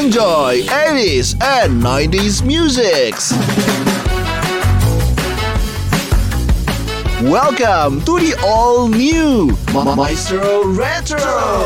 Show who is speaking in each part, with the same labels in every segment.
Speaker 1: enjoy 80s and 90s musics. Welcome to the all-new Maestro Retro.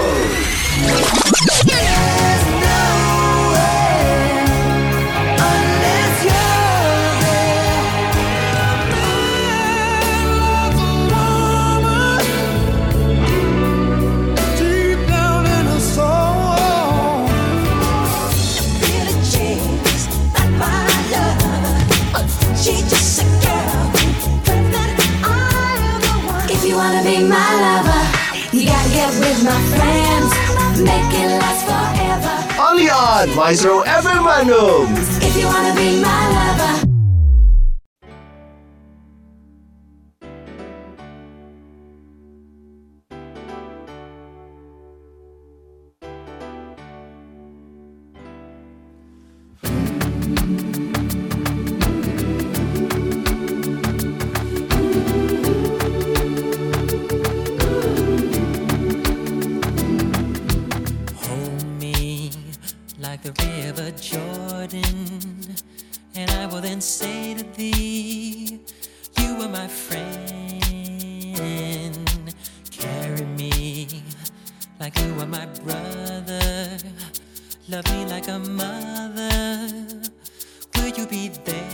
Speaker 2: Be my lover, you gotta get with my friends, make it last forever.
Speaker 1: Only on Maestro FM Bandung.
Speaker 2: If you wanna be my lover.
Speaker 3: The river Jordan, and I will then say to thee, you are my friend. Carry me like you are my brother. Love me like a mother. Will you be there?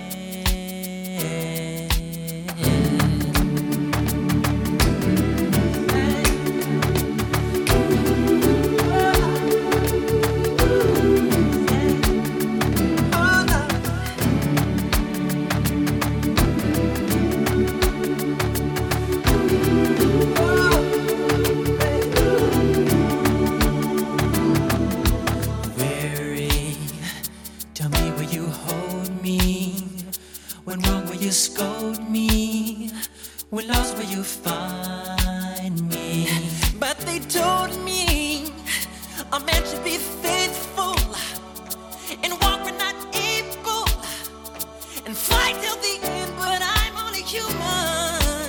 Speaker 3: Scold me, when lost will you find me? But they told me I'm meant to be faithful and walk when not able and fight till the end, but I'm only human.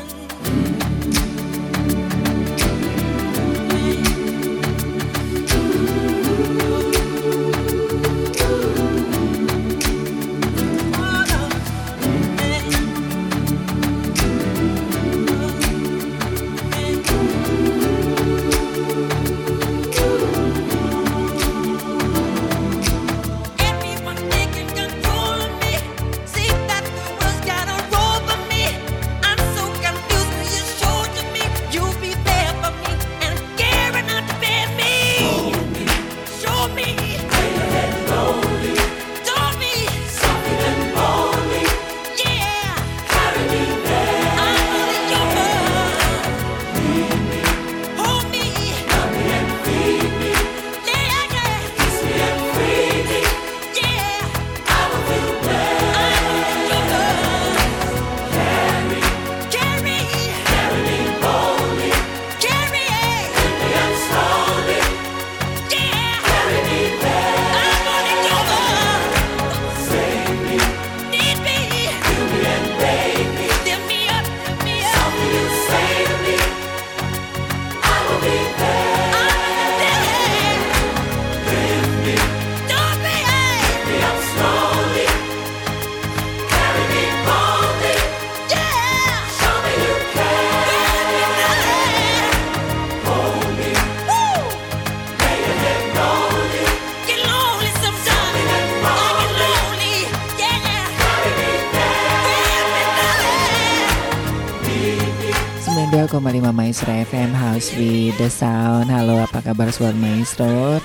Speaker 4: Maestro FM House with the Sound. Halo, apa kabar Sobat Maestro?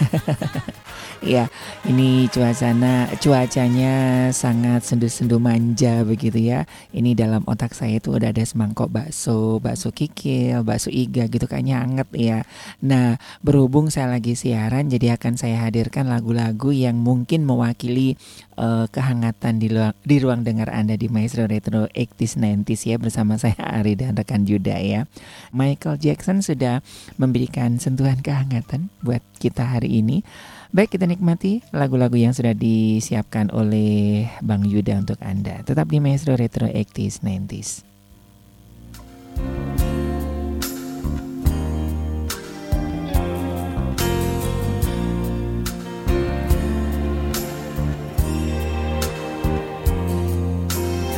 Speaker 4: Ya, ini cuacanya sangat sendu-sendu manja begitu ya. Ini dalam otak saya itu udah ada semangkok bakso kikil, bakso iga gitu, kayaknya anget ya. Nah, berhubung saya lagi siaran, jadi akan saya hadirkan lagu-lagu yang mungkin mewakili kehangatan di ruang dengar Anda di Maestro Retro 80s 90s ya, bersama saya Ari dan rekan Yuda ya. Michael Jackson sudah memberikan sentuhan kehangatan buat kita hari ini. Baik, kita nikmati lagu-lagu yang sudah disiapkan oleh Bang Yuda untuk Anda. Tetap di Maestro Retro 80s 90s.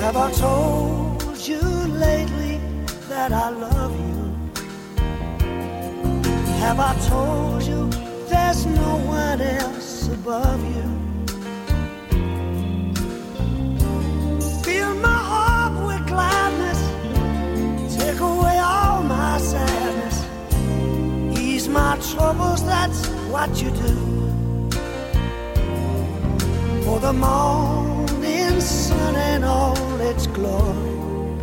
Speaker 5: Have I told you lately that I love you? Have I told you there's no one else above you? Fill my heart with gladness, take away all my sadness, ease my troubles, that's what you do. For the morning sun and all its glory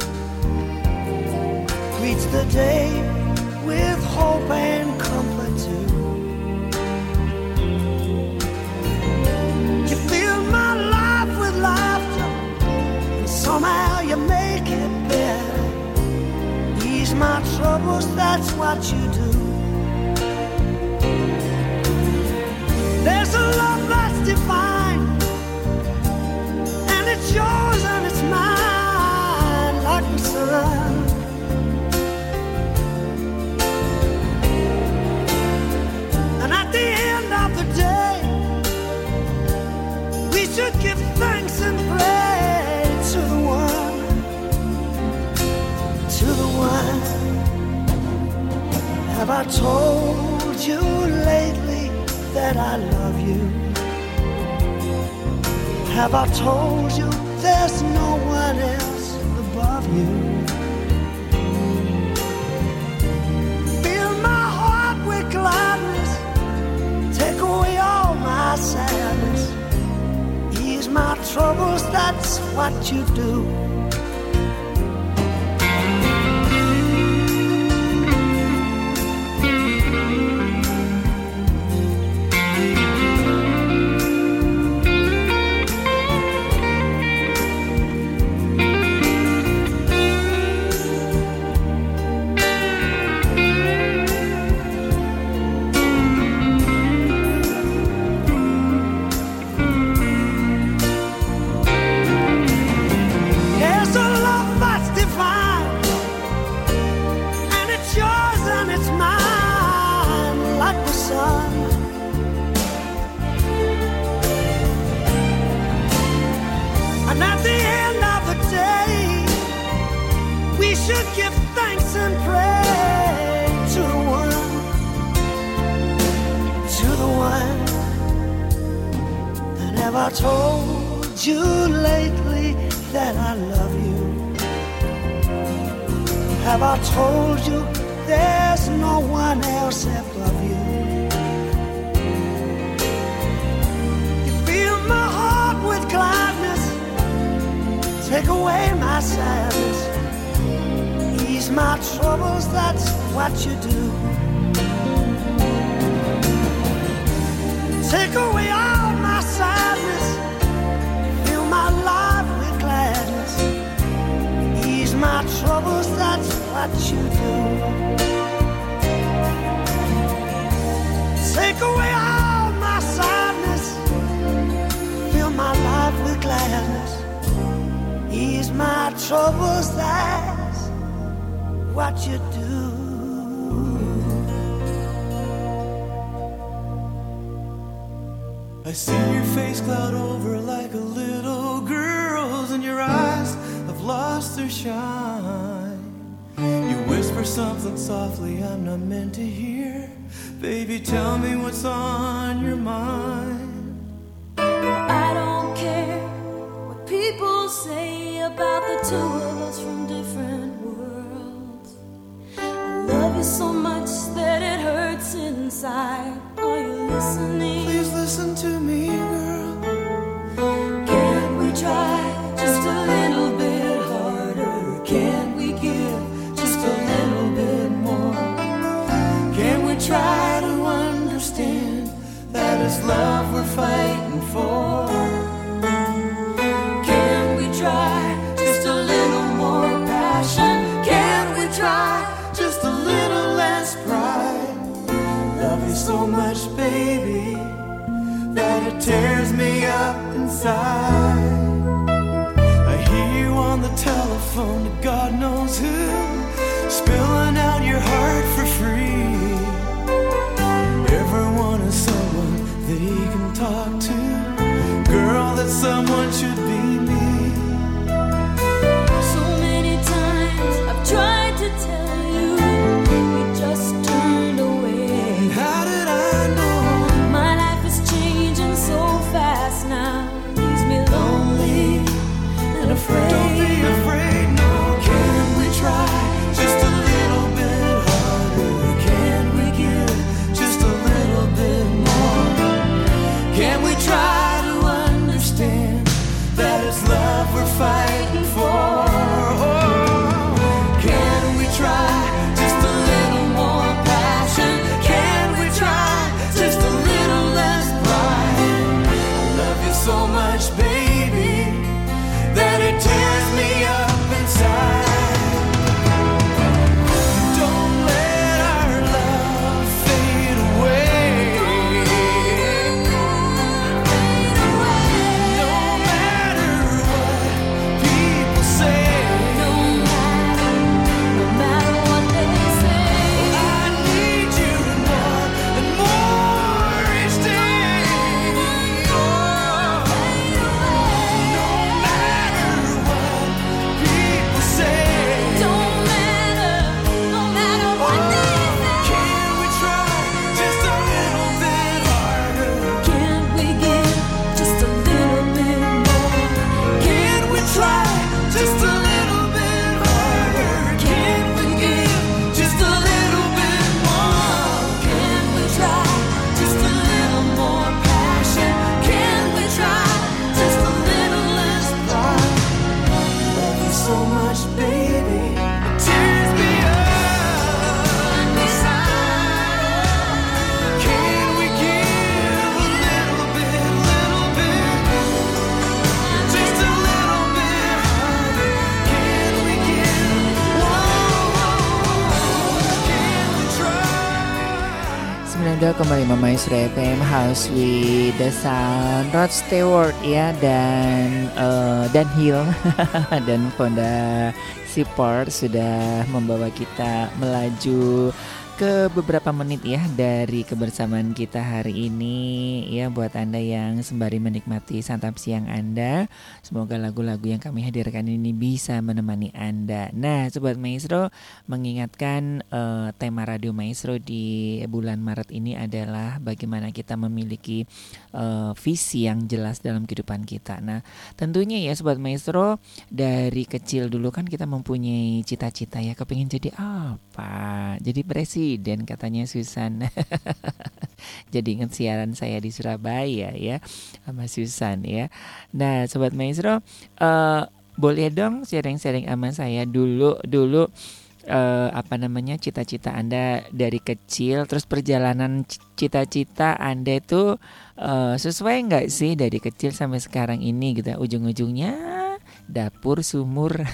Speaker 5: greets the day with hope and comfort too. You fill my life with laughter, and somehow you make it better. Ease my troubles, that's what you do. There's a love that's divine, and it's yours and it's mine, like the sun. And at the end of the day, we should give thanks and praise to the one, to the one. Have I told you lately that I love you? Have I told you there's no one else above you? Fill my heart with gladness, take away all my sadness, ease my troubles, that's what you do. Should give thanks and praise to the one, to the one. And have I told you lately that I love you? Have I told you there's no one else above you? You fill my heart with gladness, take away my sadness, ease my troubles, that's what you do. Take away all my sadness, fill my life with gladness, ease my troubles, that's what you do. Take away all my sadness, fill my life with gladness, ease my troubles, that's what you do.
Speaker 3: I see your face cloud over like a little girl's, and your eyes have lost their shine. You whisper something softly I'm not meant to hear. Baby, tell me what's on your mind.
Speaker 2: I don't care what people say about the two of us from different worlds. I love you so much that it hurts inside. Are you listening?
Speaker 3: Please listen to me, girl.
Speaker 2: Can't we try just a little bit harder? Can't we give just a little bit more?
Speaker 3: Can we try to understand that it's love we're fighting for?
Speaker 2: Can we try just a little more passion? Can we try
Speaker 3: Just a little less pride. Love you so much, baby, that it tears me up inside. I hear you on the telephone to God knows who, spilling out your heart for free. Everyone is someone that he can talk to. Girl, that someone should be me.
Speaker 4: 92,5 Maestro FM House with the Sound. Rod Stewart ya dan Hill dan Fonda Support sudah membawa kita melaju ke beberapa menit ya dari kebersamaan kita hari ini ya, buat Anda yang sembari menikmati santap siang Anda. Semoga lagu-lagu yang kami hadirkan ini bisa menemani Anda. Nah, Sobat Maestro, mengingatkan tema Radio Maestro di bulan Maret ini adalah bagaimana kita memiliki visi yang jelas dalam kehidupan kita. Nah, tentunya ya Sobat Maestro, dari kecil dulu kan kita mempunyai cita-cita ya, kepingin jadi apa? Jadi presiden katanya Susan. Jadi ingat siaran saya di Surabaya ya sama Susan ya. Nah, Sobat Maestro, boleh dong sharing-sharing sama saya dulu cita-cita Anda dari kecil, terus perjalanan cita-cita Anda itu sesuai nggak sih dari kecil sampai sekarang ini gitu, ujung-ujungnya dapur sumur.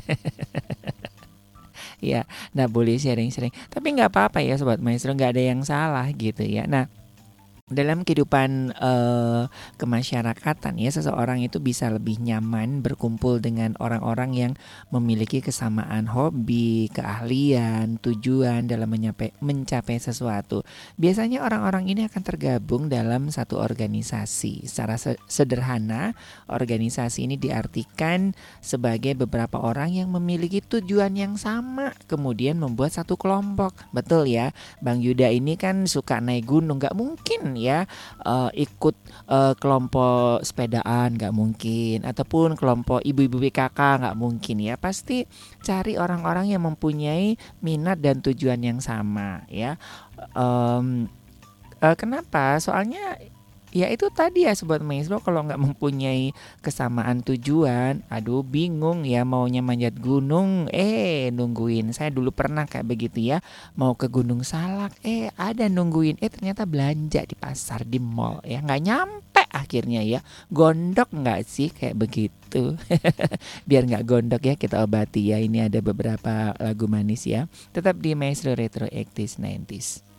Speaker 4: Ya, nah boleh sharing-sharing, tapi nggak apa-apa ya Sobat Maestro, nggak ada yang salah gitu ya. Nah, dalam kehidupan kemasyarakatan ya, seseorang itu bisa lebih nyaman berkumpul dengan orang-orang yang memiliki kesamaan hobi, keahlian, tujuan dalam mencapai sesuatu. Biasanya orang-orang ini akan tergabung dalam satu organisasi. Secara sederhana, organisasi ini diartikan sebagai beberapa orang yang memiliki tujuan yang sama, kemudian membuat satu kelompok. Betul ya, Bang Yuda ini kan suka naik gunung, nggak mungkin ya ikut kelompok sepedaan, nggak mungkin, ataupun kelompok ibu-ibu PKK, nggak mungkin ya. Pasti cari orang-orang yang mempunyai minat dan tujuan yang sama ya. Kenapa? Soalnya ya itu tadi ya Sobat Maestro, kalau nggak mempunyai kesamaan tujuan, aduh bingung ya, maunya manjat gunung, nungguin. Saya dulu pernah kayak begitu ya, mau ke Gunung Salak, ada nungguin, ternyata belanja di pasar, di mall ya, nggak nyampe akhirnya ya. Gondok nggak sih kayak begitu? Biar nggak gondok ya, kita obati ya. Ini ada beberapa lagu manis ya, tetap di Maestro Retro 80s 90s.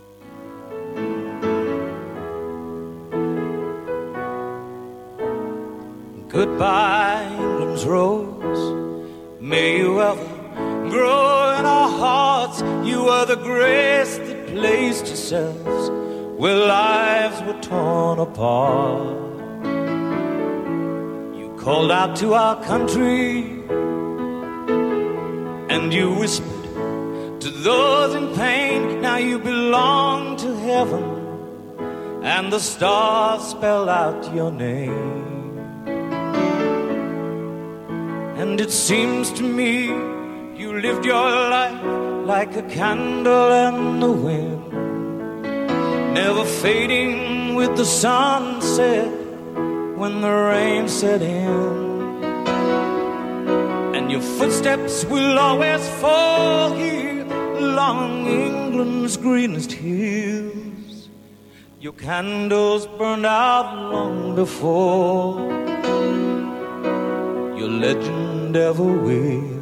Speaker 6: Goodbye, England's rose. May you ever grow in our hearts. You are the grace that placed yourselves where lives were torn apart. You called out to our country and you whispered to those in pain. Now you belong to heaven and the stars spell out your name. And it seems to me you lived your life like a candle in the wind, never fading with the sunset when the rain set in. And your footsteps will always fall here along England's greenest hills. Your candles burned out long before your legend ever will.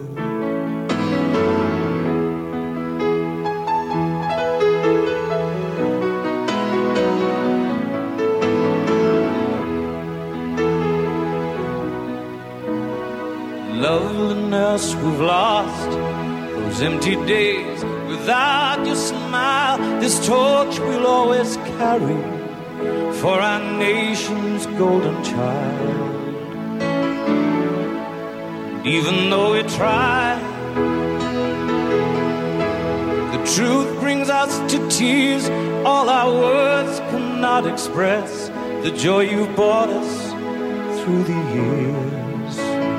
Speaker 6: Loveliness we've lost, those empty days without your smile. This torch we'll always carry for our nation's golden child. Even though we try, the truth brings us to tears. All our words cannot express the joy you've brought us through the years.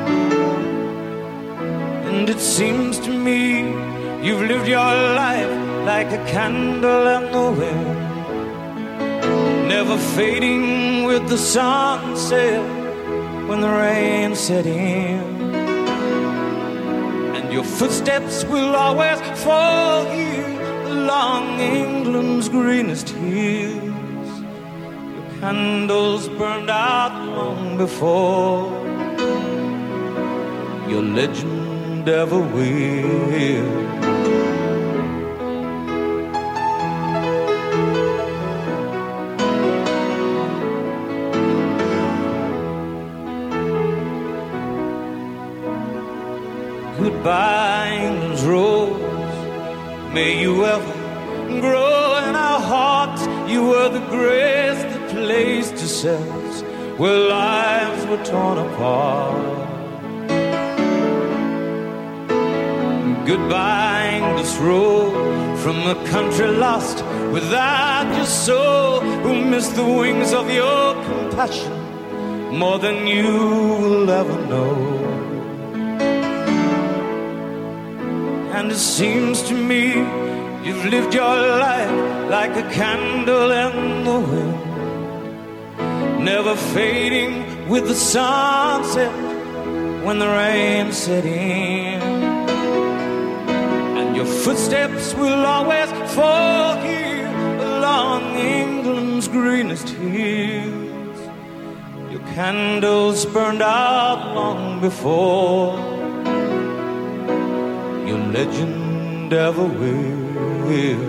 Speaker 6: And it seems to me you've lived your life like a candle in the wind, never fading with the sunset when the rain set in. Your footsteps will always fall here along England's greenest hills. Your candles burned out long before your legend ever will. Goodbye, England's rose. May you ever grow in our hearts. You were the grace that placed yourselves where lives were torn apart. Goodbye, English road, from a country lost without your soul, who missed the wings of your compassion more than you will ever know. And it seems to me you've lived your life like a candle in the wind, never fading with the sunset when the rain set in. Your footsteps will always fall here along England's greenest hills. Your candles burned out long before your legend ever will.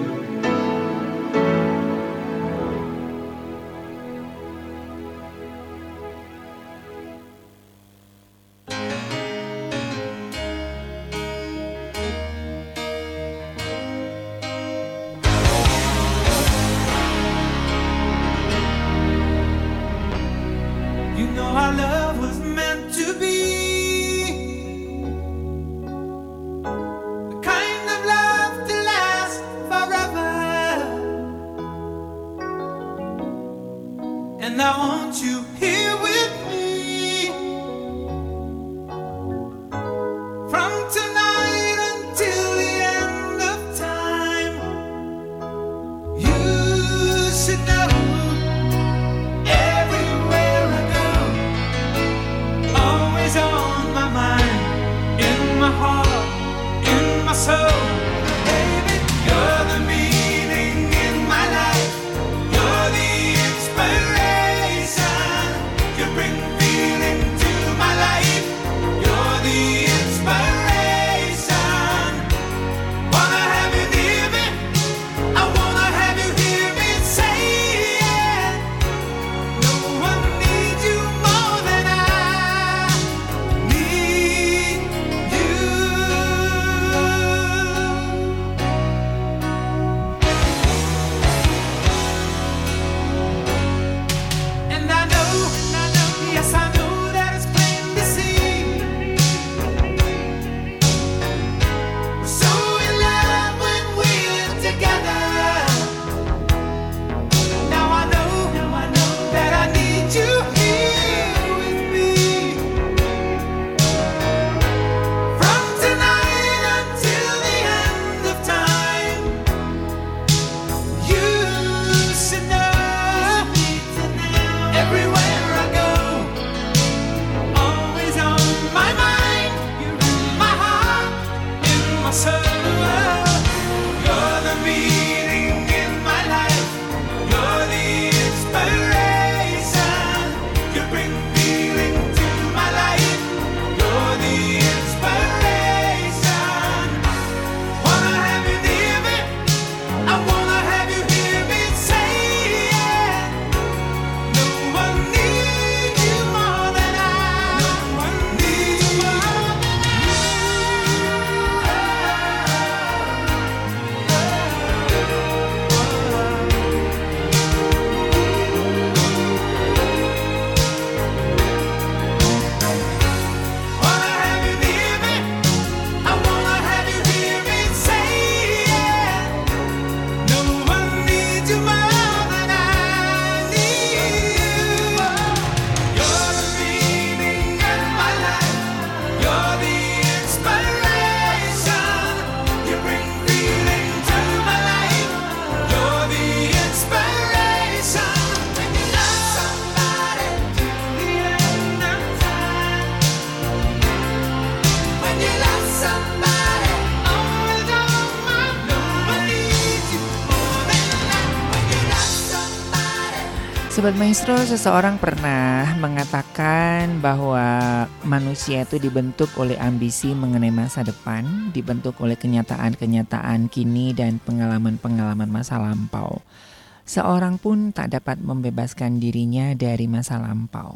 Speaker 4: Sobat Maestro, seseorang pernah mengatakan bahwa manusia itu dibentuk oleh ambisi mengenai masa depan, dibentuk oleh kenyataan-kenyataan kini dan pengalaman-pengalaman masa lampau. Seorang pun tak dapat membebaskan dirinya dari masa lampau.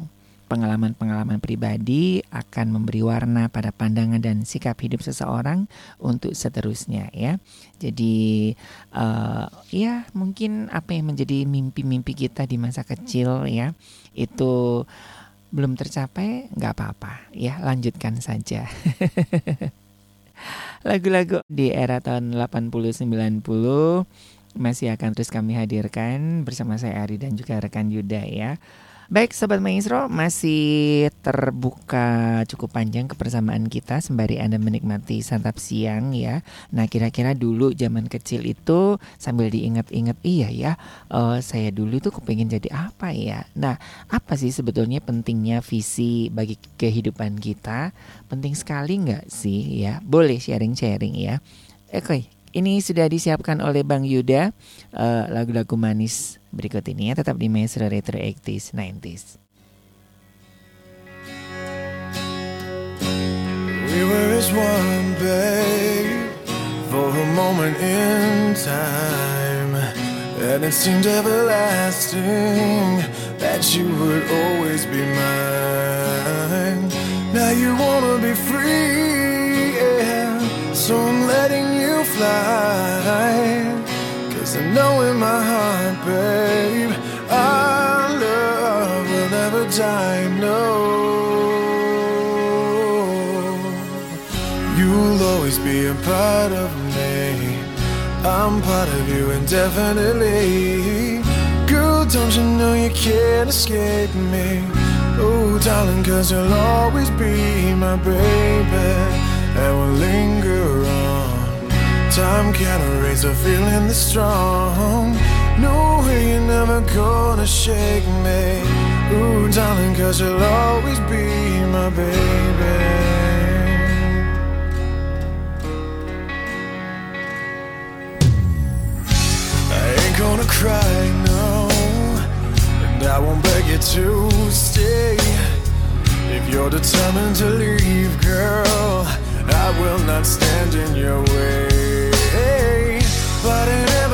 Speaker 4: pengalaman-pengalaman pribadi akan memberi warna pada pandangan dan sikap hidup seseorang untuk seterusnya ya. Jadi ya mungkin apa yang menjadi mimpi-mimpi kita di masa kecil ya itu belum tercapai, nggak apa-apa ya, lanjutkan saja. Lagu-lagu di era tahun 80-90 masih akan terus kami hadirkan bersama saya Ari dan juga rekan Yuda ya. Baik Sobat Maestro, masih terbuka cukup panjang kebersamaan kita sembari Anda menikmati santap siang ya. Nah kira-kira dulu zaman kecil itu sambil diingat-ingat, iya ya saya dulu itu kepingin jadi apa ya. Nah apa sih sebetulnya pentingnya visi bagi kehidupan kita? Penting sekali gak sih ya? Boleh sharing-sharing ya. Oke, ini sudah disiapkan oleh Bang Yuda lagu-lagu manis berikut ini ya, tetap di Maestro Retro 80s 90s.
Speaker 7: We were as one, babe, for a moment in time, and it seemed everlasting that you would always be mine. Now you wanna be free, yeah, so I'm letting you fly. Cause I know in my heart, babe, our love will never die, no. You'll always be a part of me, I'm part of you indefinitely. Girl, don't you know you can't escape me? Oh, darling, cause you'll always be my baby, and we'll linger on. Time can't erase a feeling this strong. No way you're never gonna shake me. Ooh, darling, cause you'll always be my baby. I ain't gonna cry, no, and I won't beg you to stay. If you're determined to leave, girl, I will not stand in your way. But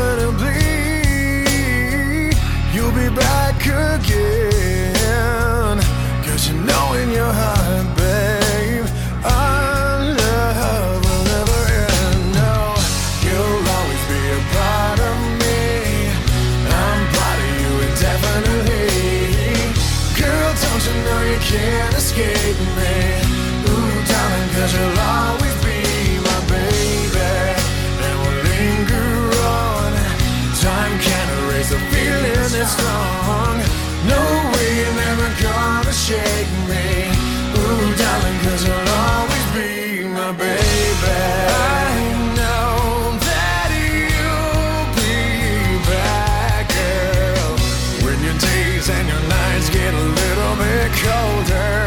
Speaker 7: inevitably you'll be back again. Cause you know in your heart, babe, our love will never end. No, you'll always be a part of me, I'm part of you indefinitely. Girl, don't you know you can't escape me? Ooh, darling, cause you'll always be my baby, and we'll linger on. Time can't erase a feeling that's strong. No way you're never gonna shake me. Ooh, darling, cause you'll always be my baby. I know that you'll be back, girl, when your days and your nights get a little bit colder.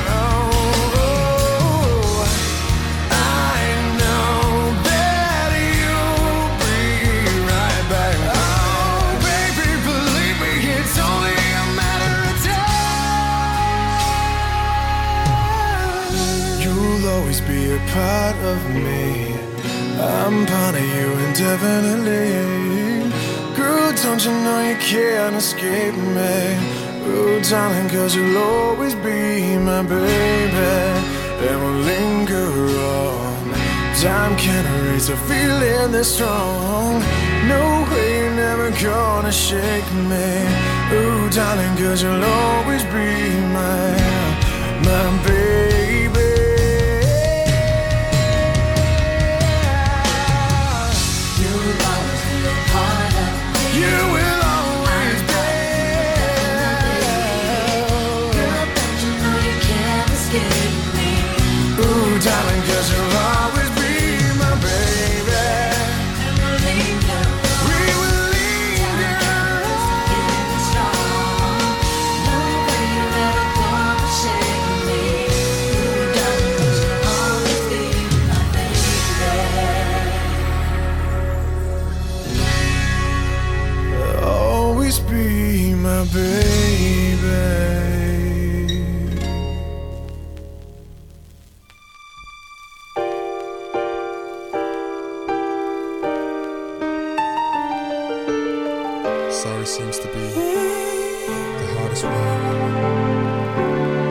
Speaker 7: Be a part of me, I'm part of you indefinitely. Girl, don't you know you can't escape me? Oh, darling, cause you'll always be my baby, and we'll linger on. Time can't erase a feeling this strong. No way you're never gonna shake me. Oh, darling, cause you'll always be my baby. Darling, cause you'll always be my baby, and we'll linger. We will linger. No way you're ever gonna shake me. Darling, cause you'll always be my baby. Always be my baby.
Speaker 8: Sorry seems to be the hardest word.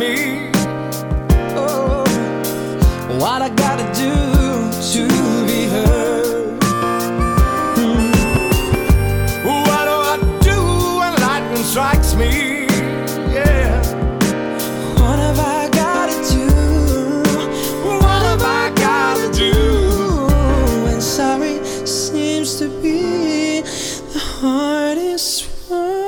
Speaker 6: me. Oh, what I gotta do to be heard? What do I do when lightning strikes me? Yeah. What have I gotta do? What have I gotta do? When sorry seems to be the hardest one.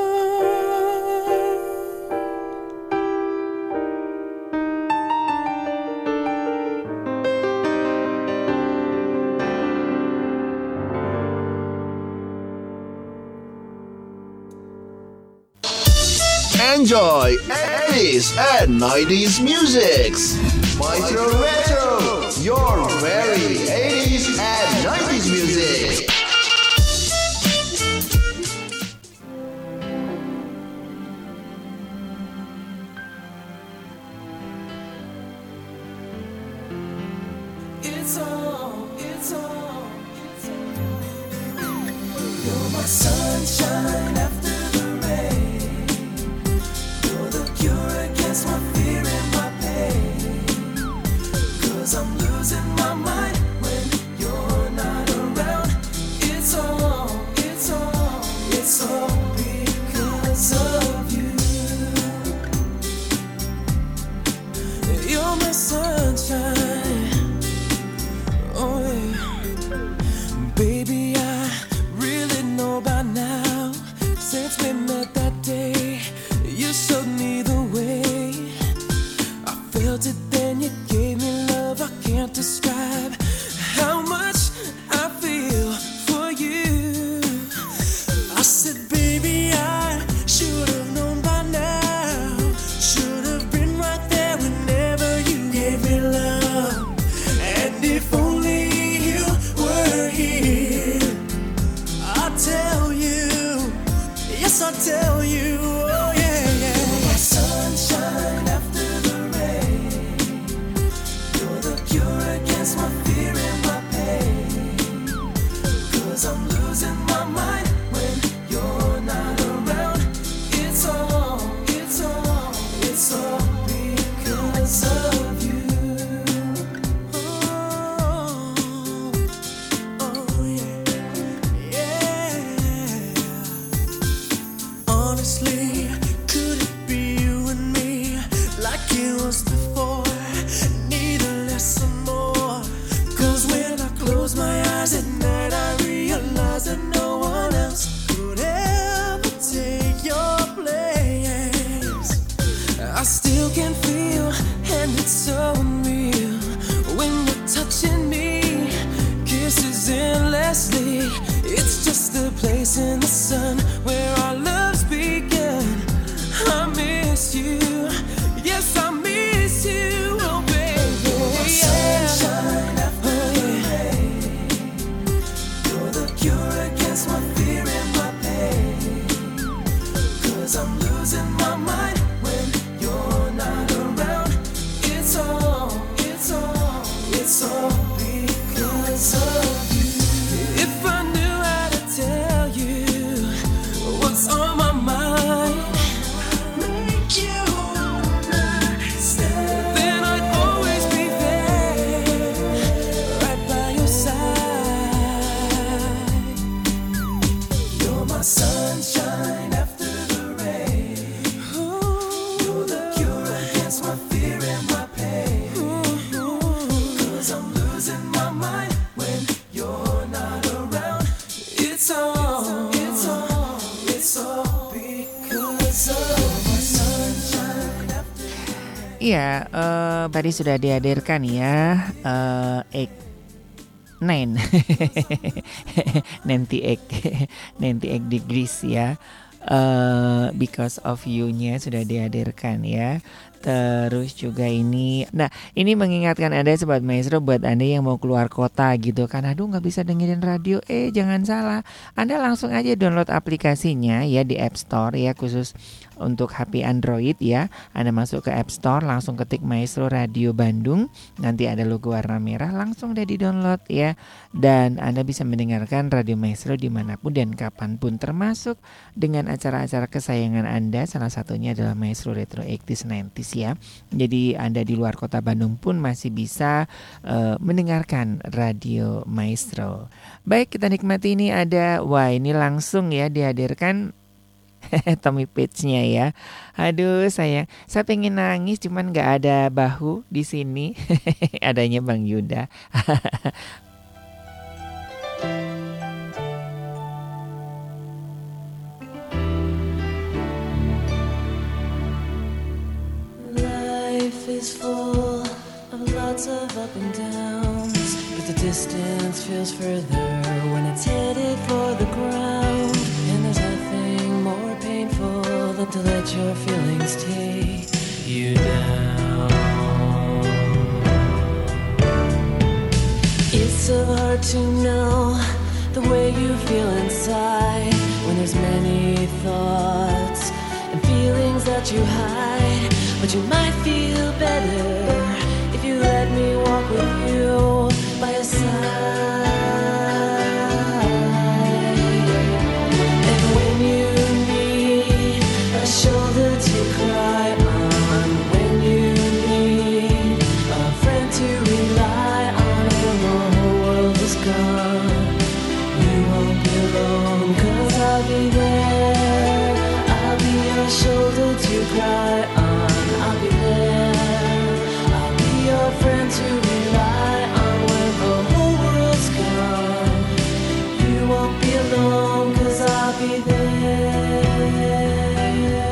Speaker 1: Enjoy 80s and 90s musics. Maestro Retro, your very 80s and 90s music.
Speaker 3: It's all, it's all, it's all. You're my sunshine after the rain. You're the cure against my fear and my pain. 'Cause I'm losing my mind when you're not around. It's all, it's all, it's all because of you. You're my sunshine. Oh yeah. Baby, I really know by now. Since we met that day, you showed me the way. I felt it then, you gave me love I can't describe. How much I feel for you. I said, baby, I should have known by now. Should have been right there whenever you gave me love. And if only you were here, I'll tell you, yes, I'll tell you, oh yeah, yeah. You're my sunshine after the rain. You're the cure against my fear and my pain. 'Cause I'm losing my mind when you're not around. It's all, it's all, it's all because of you. Oh yeah, yeah. Honestly, could it be you and me like it was before? Neither less or more. 'Cause when I close my eyes at night, I realize that no one else could ever take your place. I still can feel, and it's so unreal, when you're touching me, kisses endlessly. It's just a place in the sun where our loves began. I miss you, yes, I miss you, oh baby. Yeah. Sunshine after the rain. You're the cure against my fear and my pain. 'Cause I'm losing my mind when you're not around. It's all, it's all, it's all because of you. If I knew how to tell you what's on my mind, make you understand, then I'd always be there, right by your side. You're my sunshine after the rain. You're the cure against my fear and my pain. 'Cause I'm losing my mind when you're not around. It's all, it's all, it's all because of my sunshine after.
Speaker 4: Iya, tadi sudah dihadirkan ya, Egg Nine, Nanti Egg Degrees ya. Because of You-nya sudah dihadirkan ya. Terus juga ini, nah ini mengingatkan Anda Sobat Maestro, buat Anda yang mau keluar kota gitu kan, aduh gak bisa dengerin radio, jangan salah, Anda langsung aja download aplikasinya ya di App Store ya, khusus untuk HP Android ya. Anda masuk ke App Store, langsung ketik Maestro Radio Bandung. Nanti ada logo warna merah, langsung udah di-download ya. Dan Anda bisa mendengarkan Radio Maestro dimanapun dan kapanpun, termasuk dengan acara-acara kesayangan Anda. Salah satunya adalah Maestro Retro 80s 90s ya. Jadi Anda di luar kota Bandung pun masih bisa mendengarkan Radio Maestro. Baik, kita nikmati ini ada, wah ini langsung ya dihadirkan Tommy Page-nya ya. Aduh sayang, saya pengen nangis cuman gak ada bahu di sini. Adanya Bang Yuda.
Speaker 2: Life is full of lots of up and downs, but the distance feels further when it's headed for the ground. And there's nothing more painful than to let your feelings take you down. It's so hard to know the way you feel inside when there's many thoughts and feelings that you hide. But you might feel better if you let me walk with you by your side. And when you need a shoulder to cry on, when you need a friend to rely on, when the whole world is gone, you won't be alone, 'cause I'll be there. I'll be your shoulder to cry on. I'll be there. I'll be your friend to rely on when the whole world's gone. You won't be alone, 'cause I'll be there.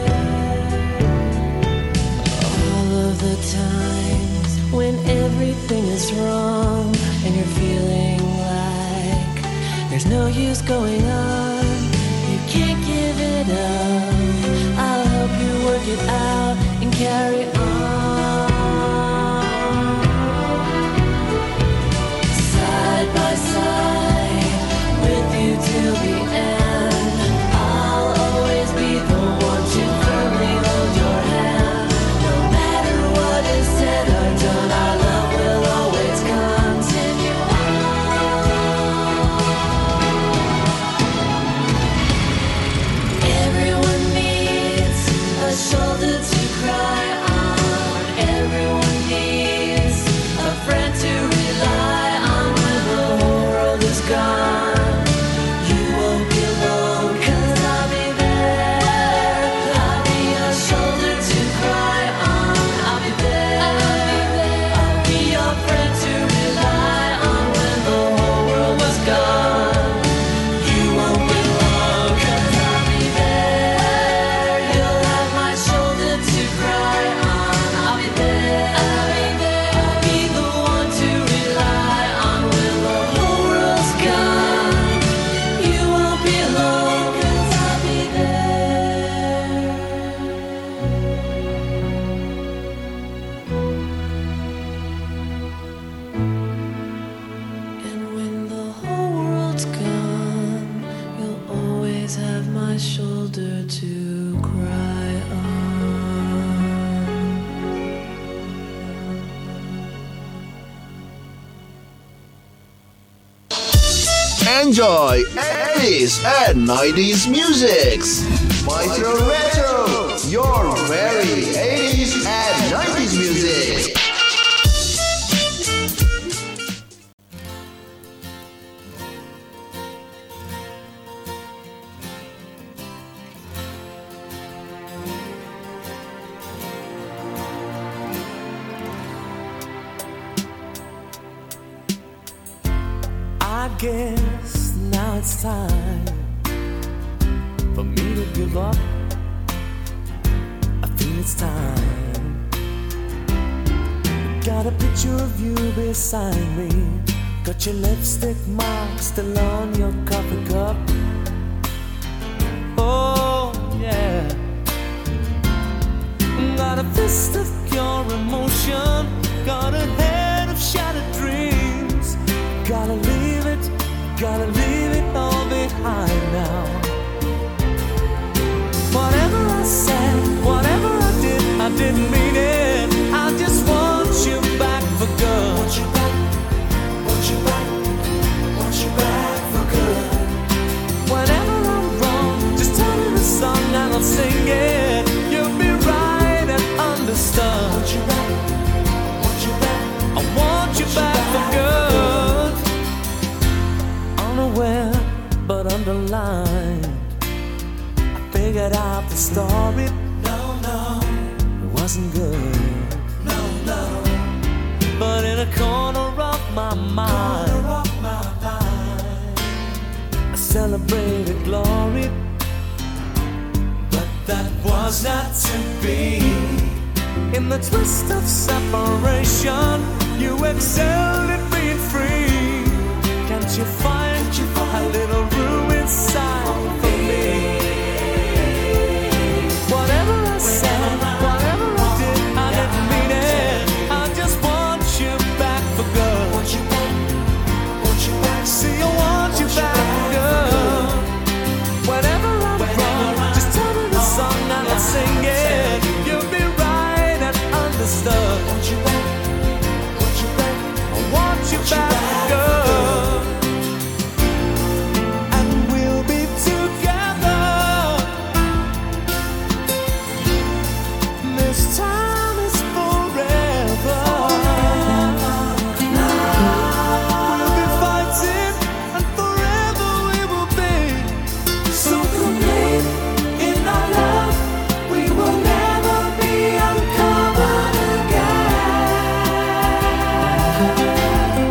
Speaker 2: All of the times when everything is wrong and you're feeling like there's no use going on, you can't give it up. I'll help you work it out and carry on. Side by side with you till the end. I'll always be the one to firmly hold your hand. No matter what is said or done, our love will always continue on. Everyone needs a shoulder to cry on. Everyone needs a friend to rely on when the whole world is gone. You won't be alone, 'cause I'll be there. I'll be your shoulder to cry on. I'll be there. I'll be your friend to rely on when the whole world was gone. You won't be alone, 'cause I'll be there. You'll have my shoulder to cry on. I'll be there. I'll be the one to rely on when the whole world's gone. You won't be alone, 'cause I'll be there. And when the whole world's gone, you'll always have my shoulder to cry on.
Speaker 1: Enjoy 80s and 90s musics. Maestro Retro, your very 80s and 90s music.
Speaker 8: I guess now it's time for me to give up. I feel it's time. Got a picture of you beside me. Got your lipstick mark still on your coffee cup. Oh yeah. Got a fist of pure emotion. Got a head of shattered dreams. Gotta leave it all behind now. Whatever I said didn't mean it. I just want you back for good. Want you back, want you back, want you back for good. Whenever I'm wrong, just tell me the song and I'll sing it. You'll be right and understood. Want you back, want you back, I want you back for good. Unaware but underlined, I figured out the story. No, it wasn't good. No, but in a corner of my mind, I celebrated glory. But that was not to be. In the twist of separation, you excelled at being free. Can't you find a little room inside for me? Whatever I said, whatever I did, I didn't mean it. I just want you back for good. Want you back, want you back. See, I want you back for good. Whenever I'm wrong, just tell me the song and I'll sing it. You'll be right and understood. Want you back, want you back, I want you back for good. And we'll be together. This time is forever. We'll be fighting and forever we will be. So complete in our love, we will never be uncovered again.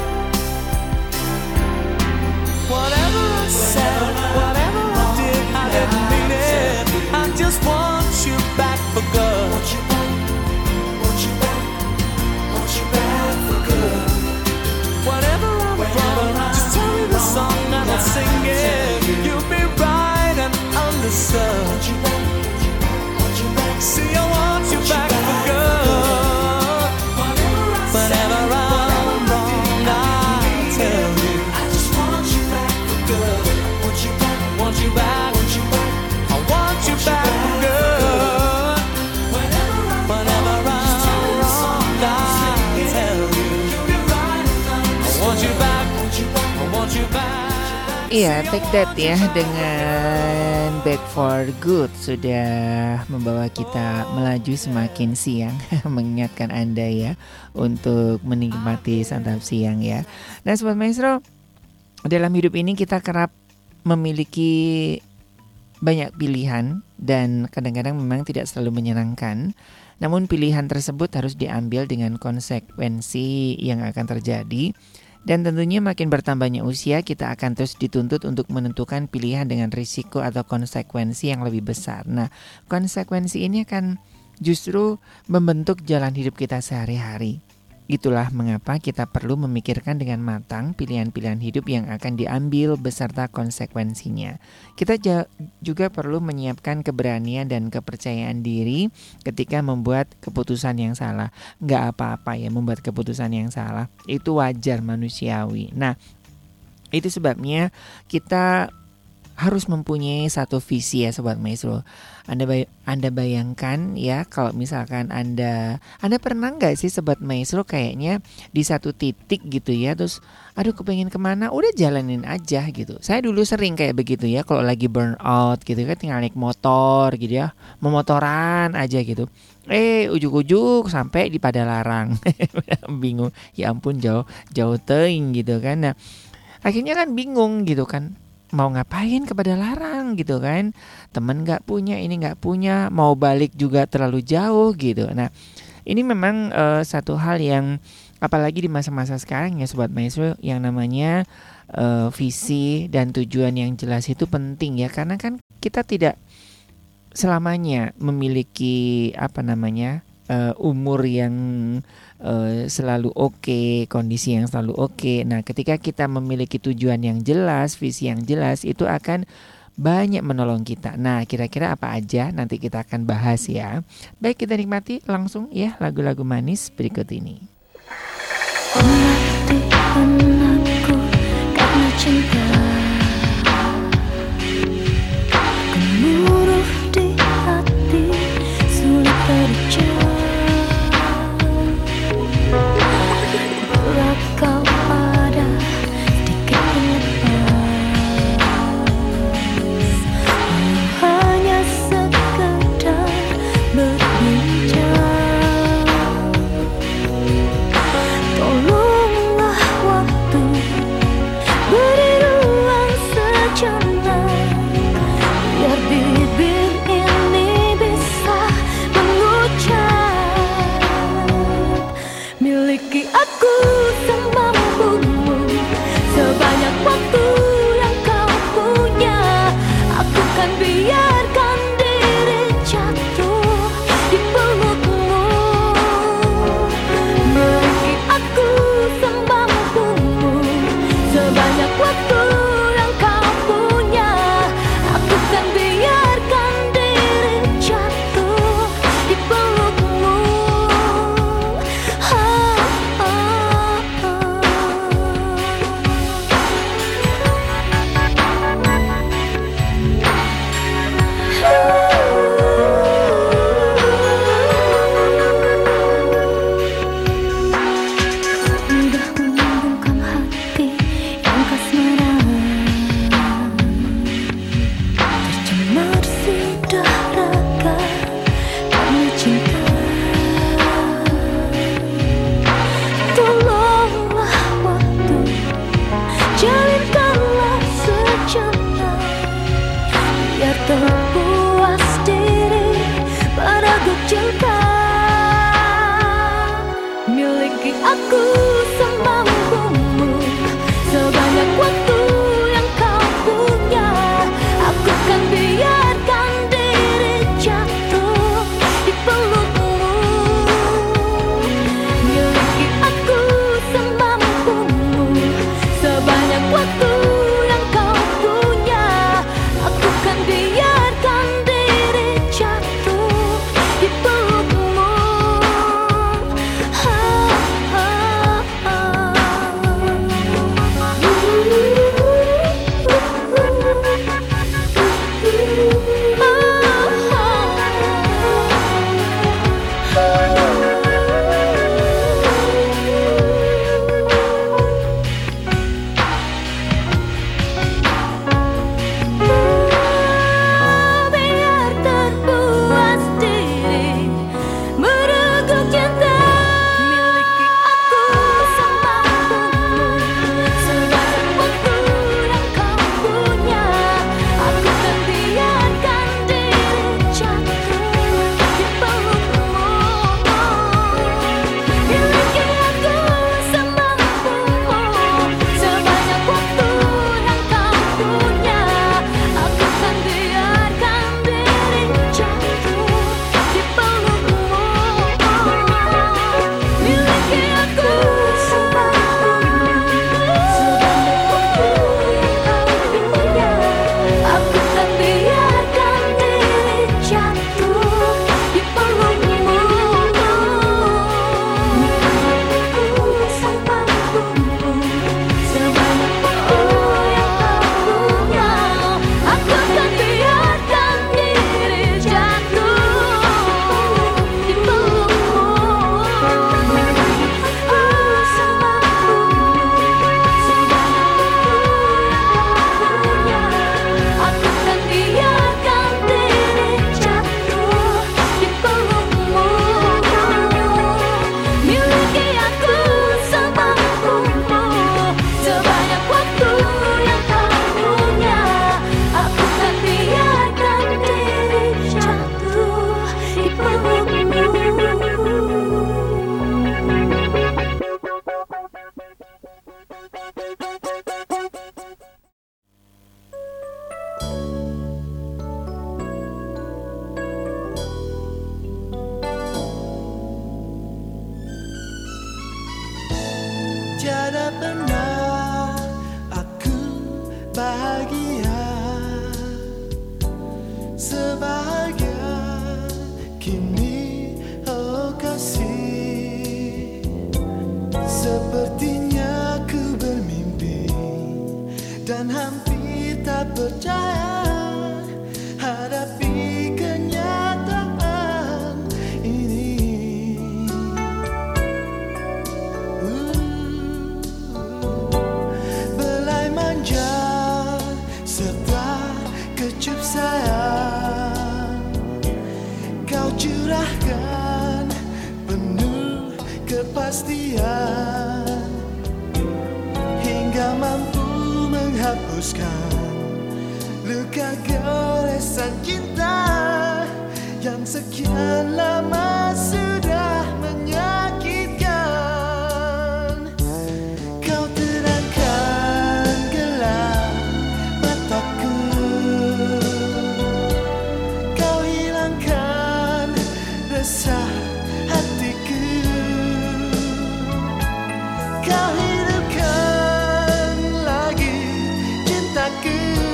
Speaker 8: Whatever I said, whatever I did, I didn't mean it. I just want you back for good. Want you back, want you back, want you back for good. Whatever I'm wrong, just tell me the song and I'll sing it. You'll be right and understood. Want you back, want you back. See, I want you back for good. Whenever I'm wrong, I'll tell you. I just want you back for good. Want you back, want you back, want you back. I want you back for good. Whenever I'm wrong, I'll tell you. I want you back, I want you back.
Speaker 4: Iya, Take That ya dengan Back for Good sudah membawa kita melaju semakin siang. Mengingatkan Anda ya untuk menikmati santap siang ya. Nah Sobat Maestro, dalam hidup ini kita kerap memiliki banyak pilihan dan kadang-kadang memang tidak selalu menyenangkan. Namun pilihan tersebut harus diambil dengan konsekuensi yang akan terjadi. Dan tentunya makin bertambahnya usia, kita akan terus dituntut untuk menentukan pilihan dengan risiko atau konsekuensi yang lebih besar. Nah, konsekuensi ini akan justru membentuk jalan hidup kita sehari-hari. Itulah mengapa kita perlu memikirkan dengan matang pilihan-pilihan hidup yang akan diambil beserta konsekuensinya. Kita juga perlu menyiapkan keberanian dan kepercayaan diri ketika membuat keputusan yang salah. Nggak apa-apa ya membuat keputusan yang salah, itu wajar, manusiawi. Nah, itu sebabnya kita harus mempunyai satu visi ya Sobat Maestro. Anda bayangkan ya kalau misalkan Anda pernah nggak sih Sobat Maestro kayaknya di satu titik gitu ya, terus aduh kepengen kemana, udah jalanin aja gitu. Saya dulu sering kayak begitu ya, kalau lagi burn out gitu kan tinggal naik motor gitu ya, memotoran aja gitu. Ujuk-ujuk sampai di Padalarang. Bingung, ya ampun jauh teuing gitu kan. Nah, akhirnya kan bingung gitu kan. Mau ngapain ke Padalarang gitu kan, temen gak punya, ini gak punya, mau balik juga terlalu jauh gitu. Nah ini memang satu hal yang apalagi di masa-masa sekarang ya Sobat Maestro, yang namanya visi dan tujuan yang jelas itu penting ya. Karena kan kita tidak selamanya memiliki umur yang selalu oke, kondisi yang selalu oke. Nah, ketika kita memiliki tujuan yang jelas, visi yang jelas, itu akan banyak menolong kita. Nah, kira-kira apa aja nanti kita akan bahas ya. Baik, kita nikmati langsung ya lagu-lagu manis berikut ini.
Speaker 2: Aku karena cinta, gemuruh di hati, sulit terjadi.
Speaker 5: percaya hadapi kenyataan ini. Belai manja serta kecup sayang kau curahkan penuh kepastian hingga mampu menghapuskan luka goresan cinta yang sekian lama sudah menyakitkan. Kau terangkan gelap mataku, kau hilangkan resah hatiku, kau hidupkan lagi cintaku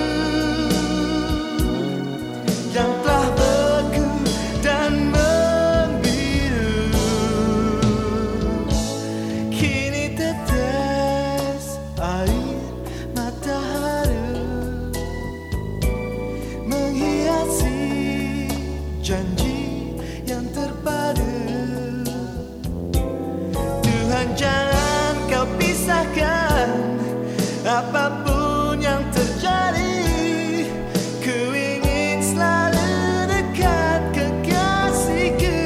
Speaker 5: yang telah beku dan membiru. Kini tetes air mata haru menghiasi janji yang terpadu. Tuhan, jangan kau pisahkan apapun yang terjadi. Ku ingin selalu dekat kekasihku.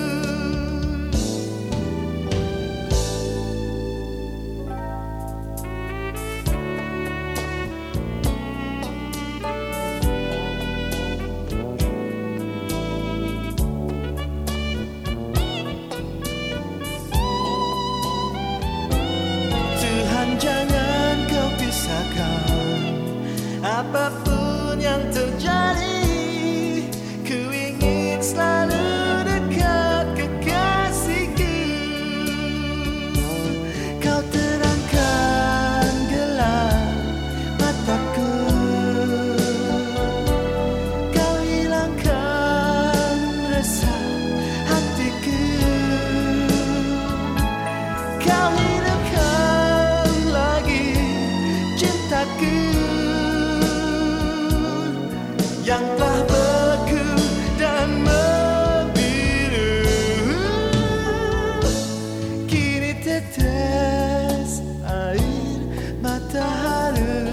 Speaker 5: Tuhan, jangan kau pisahkan apapun yang terjadi. Ku ingin selalu dekat kekasihku. Kau terangkan gelap mataku, kau hilangkan resah hatiku, kau hidupkan lagi cintaku yang telah beku dan membiru. Kini tetes air mata haru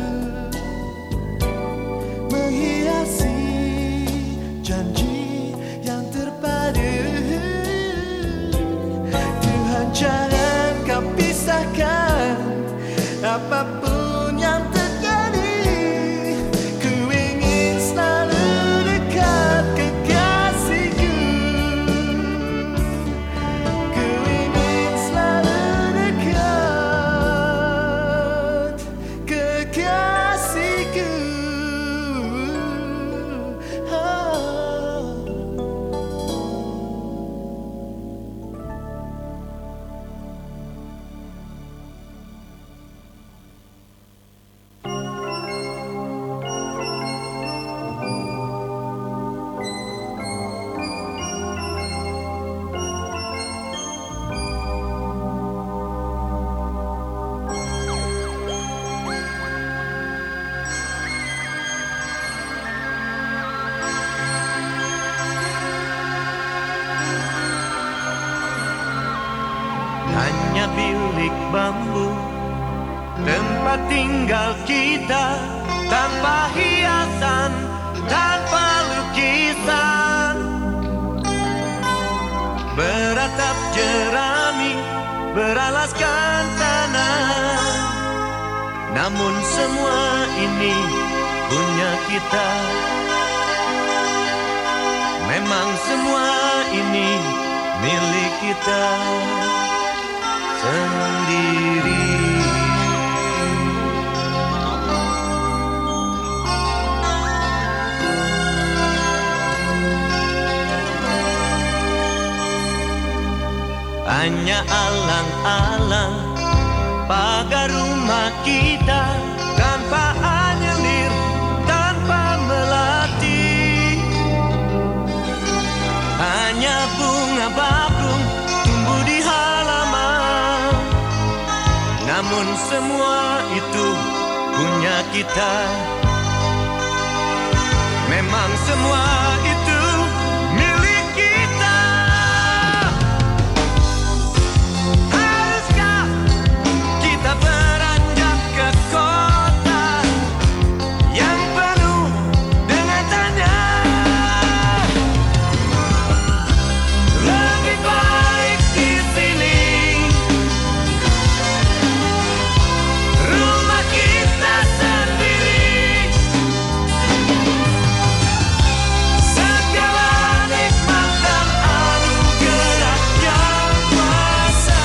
Speaker 5: menghiasi janji yang terpadu. Tuhan, jangan kau pisahkan apapun yang terjadi. Ku ingin selalu dekat kekasihku. Ku ingin selalu dekat kekasihku.
Speaker 9: Hanya bilik bambu, tempat tinggal kita, tanpa hiasan, tanpa lukisan. Beratap jerami, beralaskan tanah. Namun semua ini punya kita. Memang semua ini milik kita sendiri. Hanya alang-alang pagar rumah kita, tanpa anyelir, tanpa melati. Hanya bunga bakung tumbuh di halaman. Namun semua itu punya kita. memang semua itu milik kita. Haruskah kita beranjak ke kota yang penuh dengan tanya? Lebih baik di sini, rumah kita sendiri. Segala nikmat dan anugerah yang kuasa,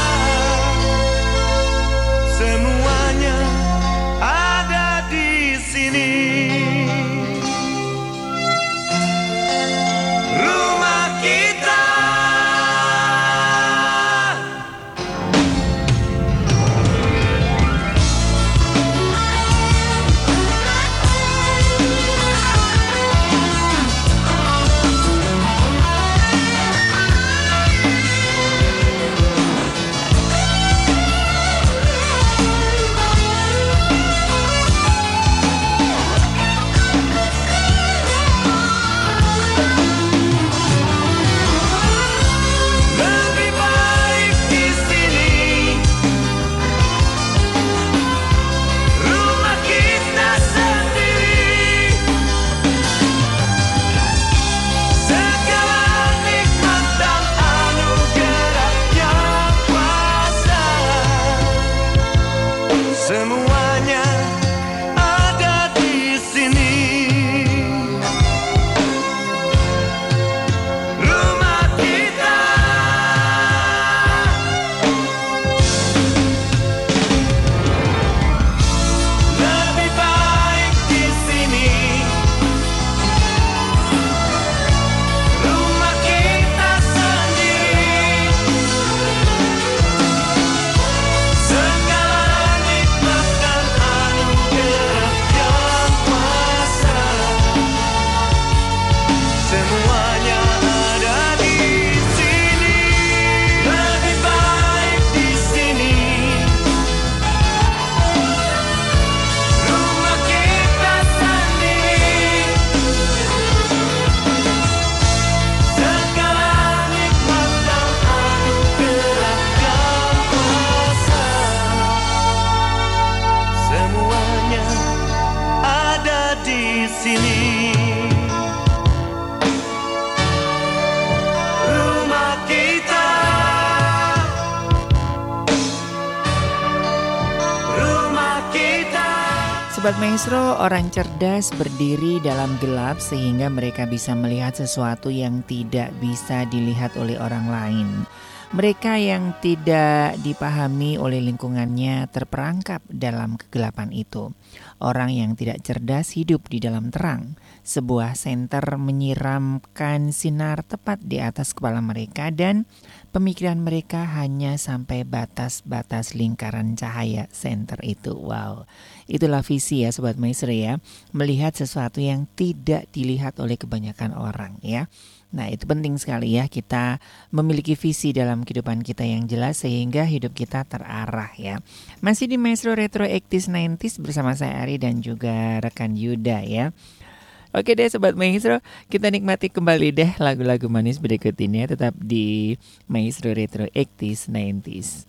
Speaker 9: semuanya ada di sini. Rumah kita. Lebih baik di sini, rumah kita sendiri. Segala nikmat dan anugerah yang kuasa, semuanya ada di sini. Rumah kita. Lebih baik di sini, rumah kita sendiri. Segala nikmat dan anugerah yang kuasa, semuanya ada di sini. Lebih baik di sini, rumah kita sendiri. Segala nikmat dan anugerah yang kuasa, semuanya ada di sini. Rumah kita. Rumah kita.
Speaker 4: Sobat Maestro, orang cerdas berdiri dalam gelap sehingga mereka bisa melihat sesuatu yang tidak bisa dilihat oleh orang lain. Mereka yang tidak dipahami oleh lingkungannya terperangkap dalam kegelapan itu. Orang yang tidak cerdas hidup di dalam terang. Sebuah senter menyiramkan sinar tepat di atas kepala mereka dan pemikiran mereka hanya sampai batas-batas lingkaran cahaya senter itu. Wow, itulah visi ya Sobat Maestro ya. Melihat sesuatu yang tidak dilihat oleh kebanyakan orang ya. Nah itu penting sekali ya, kita memiliki visi dalam kehidupan kita yang jelas sehingga hidup kita terarah ya. Masih di Maestro Retro 80s 90s bersama saya Ari dan juga rekan Yuda ya. Oke deh Sobat Maestro, kita nikmati kembali deh lagu-lagu manis berikut ini ya, tetap di Maestro Retro 80s 90s.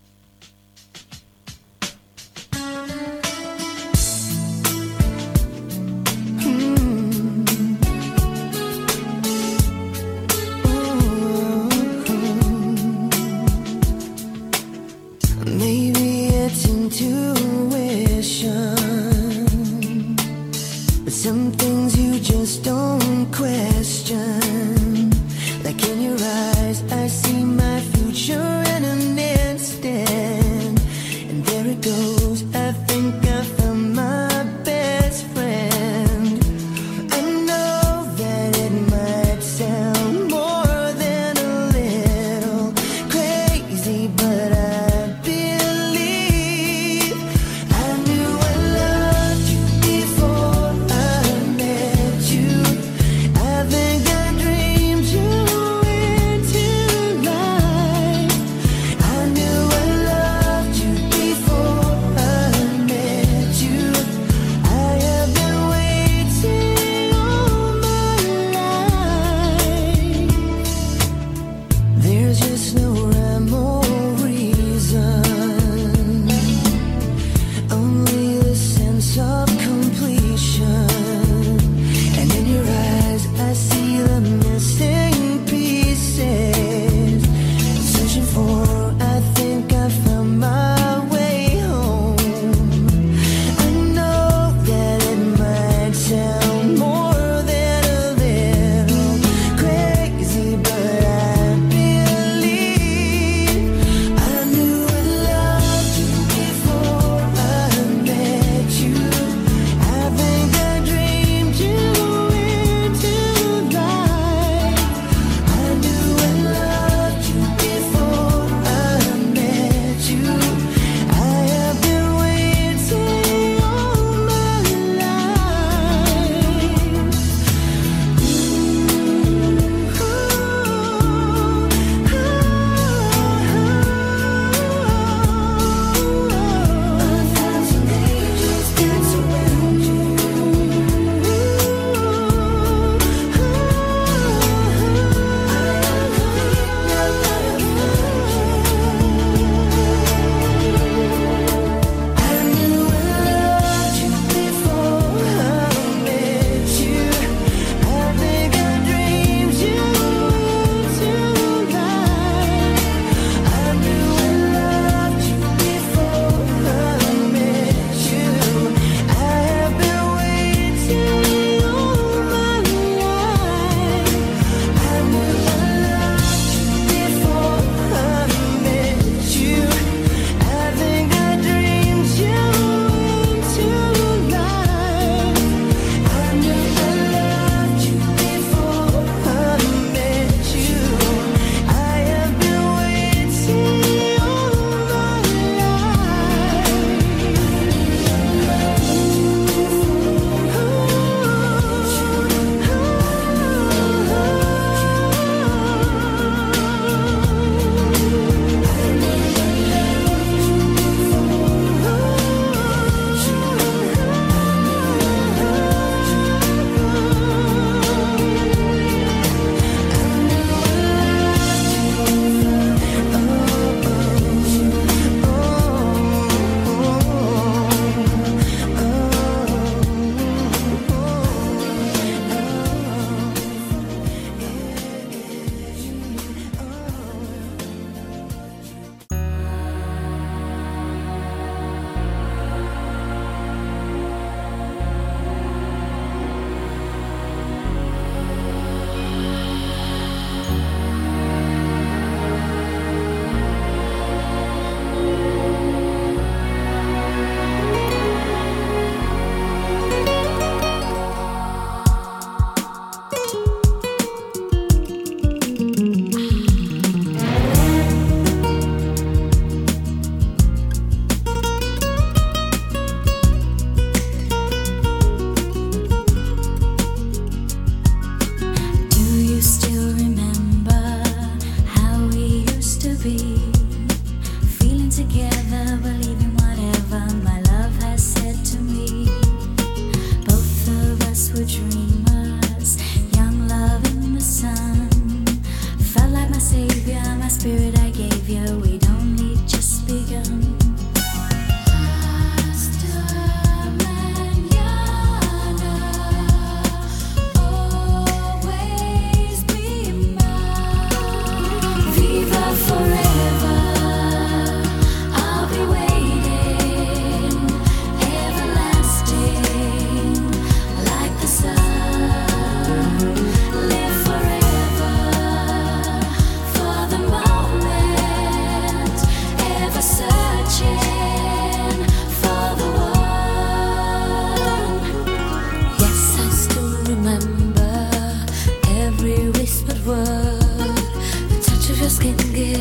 Speaker 10: Maybe it's intuition, but some things you just don't question. Like in your eyes, I see my future in an instant.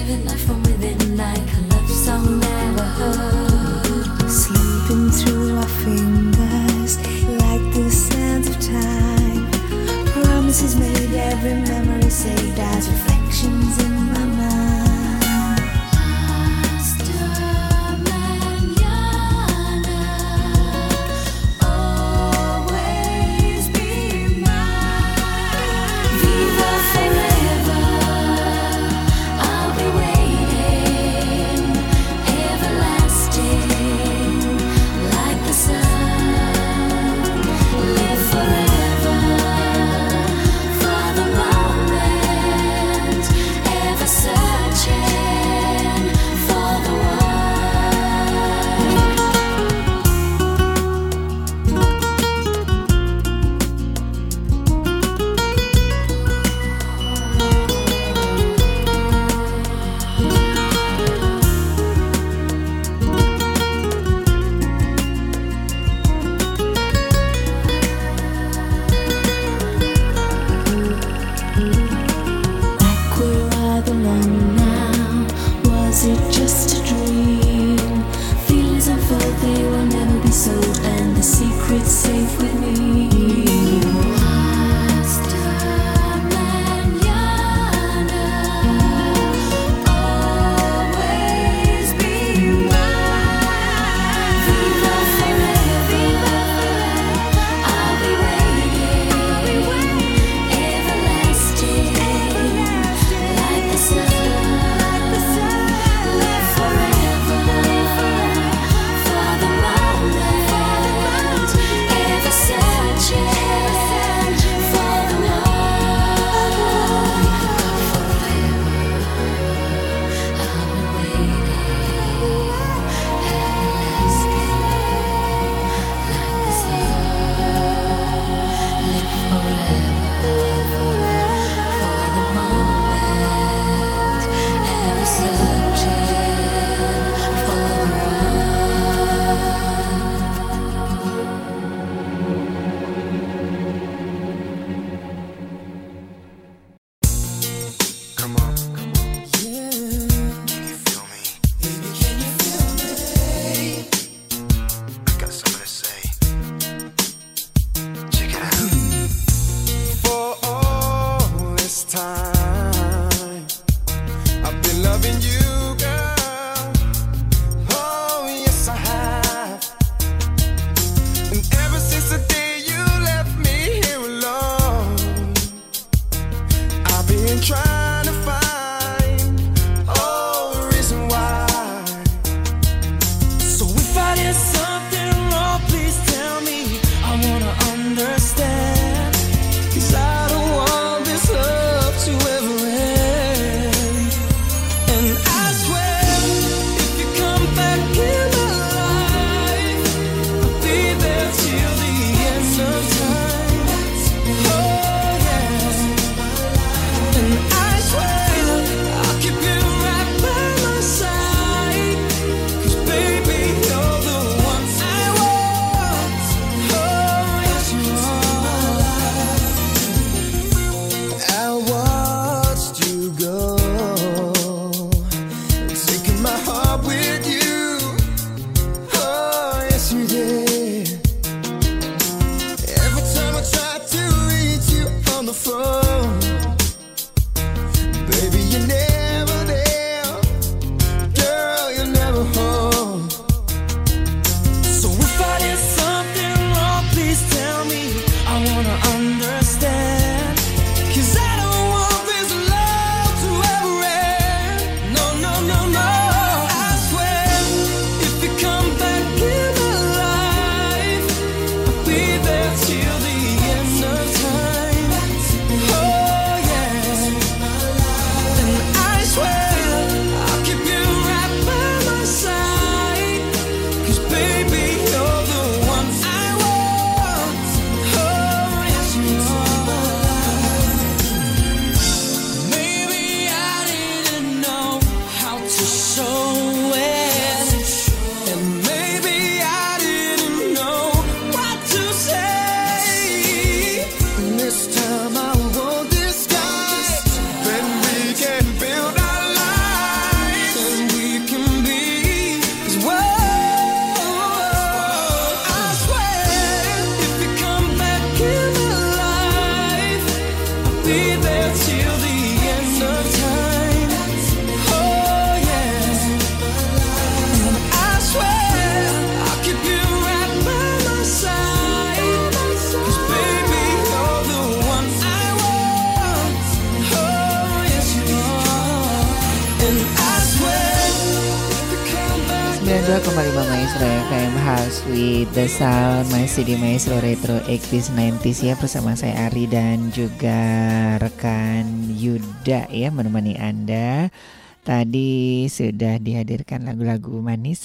Speaker 2: living life from within like a love song never heard.
Speaker 10: Sleeping through our fingers like the sands of time. Promises made, every memory saved as reflections in my mind.
Speaker 7: This time I won't disguise. Then we can build our life.
Speaker 4: 92,5 Maestro FM House with the Sound. Masih di Maestro Retro 80s 90s ya, bersama saya Ari dan juga rekan Yuda ya, menemani Anda. Tadi sudah dihadirkan lagu-lagu manis.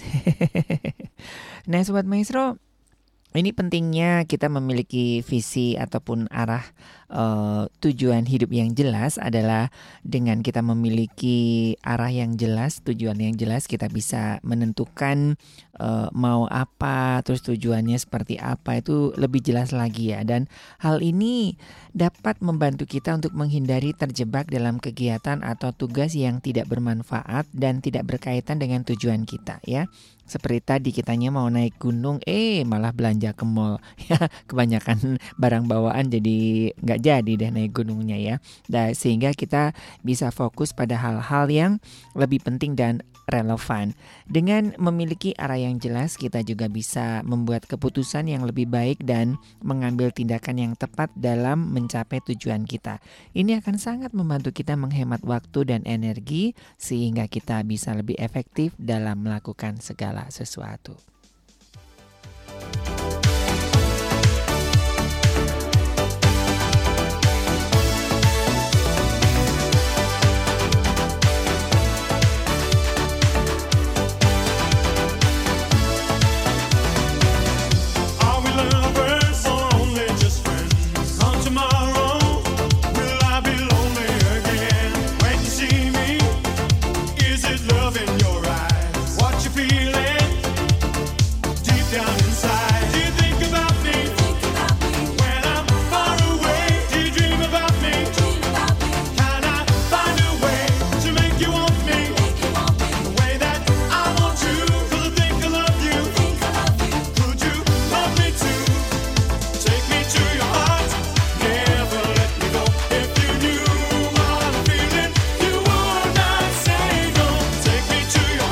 Speaker 4: Nah Sobat Maestro, ini pentingnya kita memiliki visi ataupun arah tujuan hidup yang jelas. Adalah dengan kita memiliki arah yang jelas, tujuan yang jelas, kita bisa menentukan mau apa, terus tujuannya seperti apa, itu lebih jelas lagi ya. Dan hal ini dapat membantu kita untuk menghindari terjebak dalam kegiatan atau tugas yang tidak bermanfaat dan tidak berkaitan dengan tujuan kita ya. Seperti tadi kitanya mau naik gunung, malah belanja ke mall ya, kebanyakan barang bawaan jadi nggak jadi deh naik gunungnya ya. Dan sehingga kita bisa fokus pada hal-hal yang lebih penting dan relevan. Dengan memiliki arah yang jelas, kita juga bisa membuat keputusan yang lebih baik dan mengambil tindakan yang tepat dalam mencapai tujuan kita. Ini akan sangat membantu kita menghemat waktu dan energi sehingga kita bisa lebih efektif dalam melakukan segala sesuatu.
Speaker 11: To your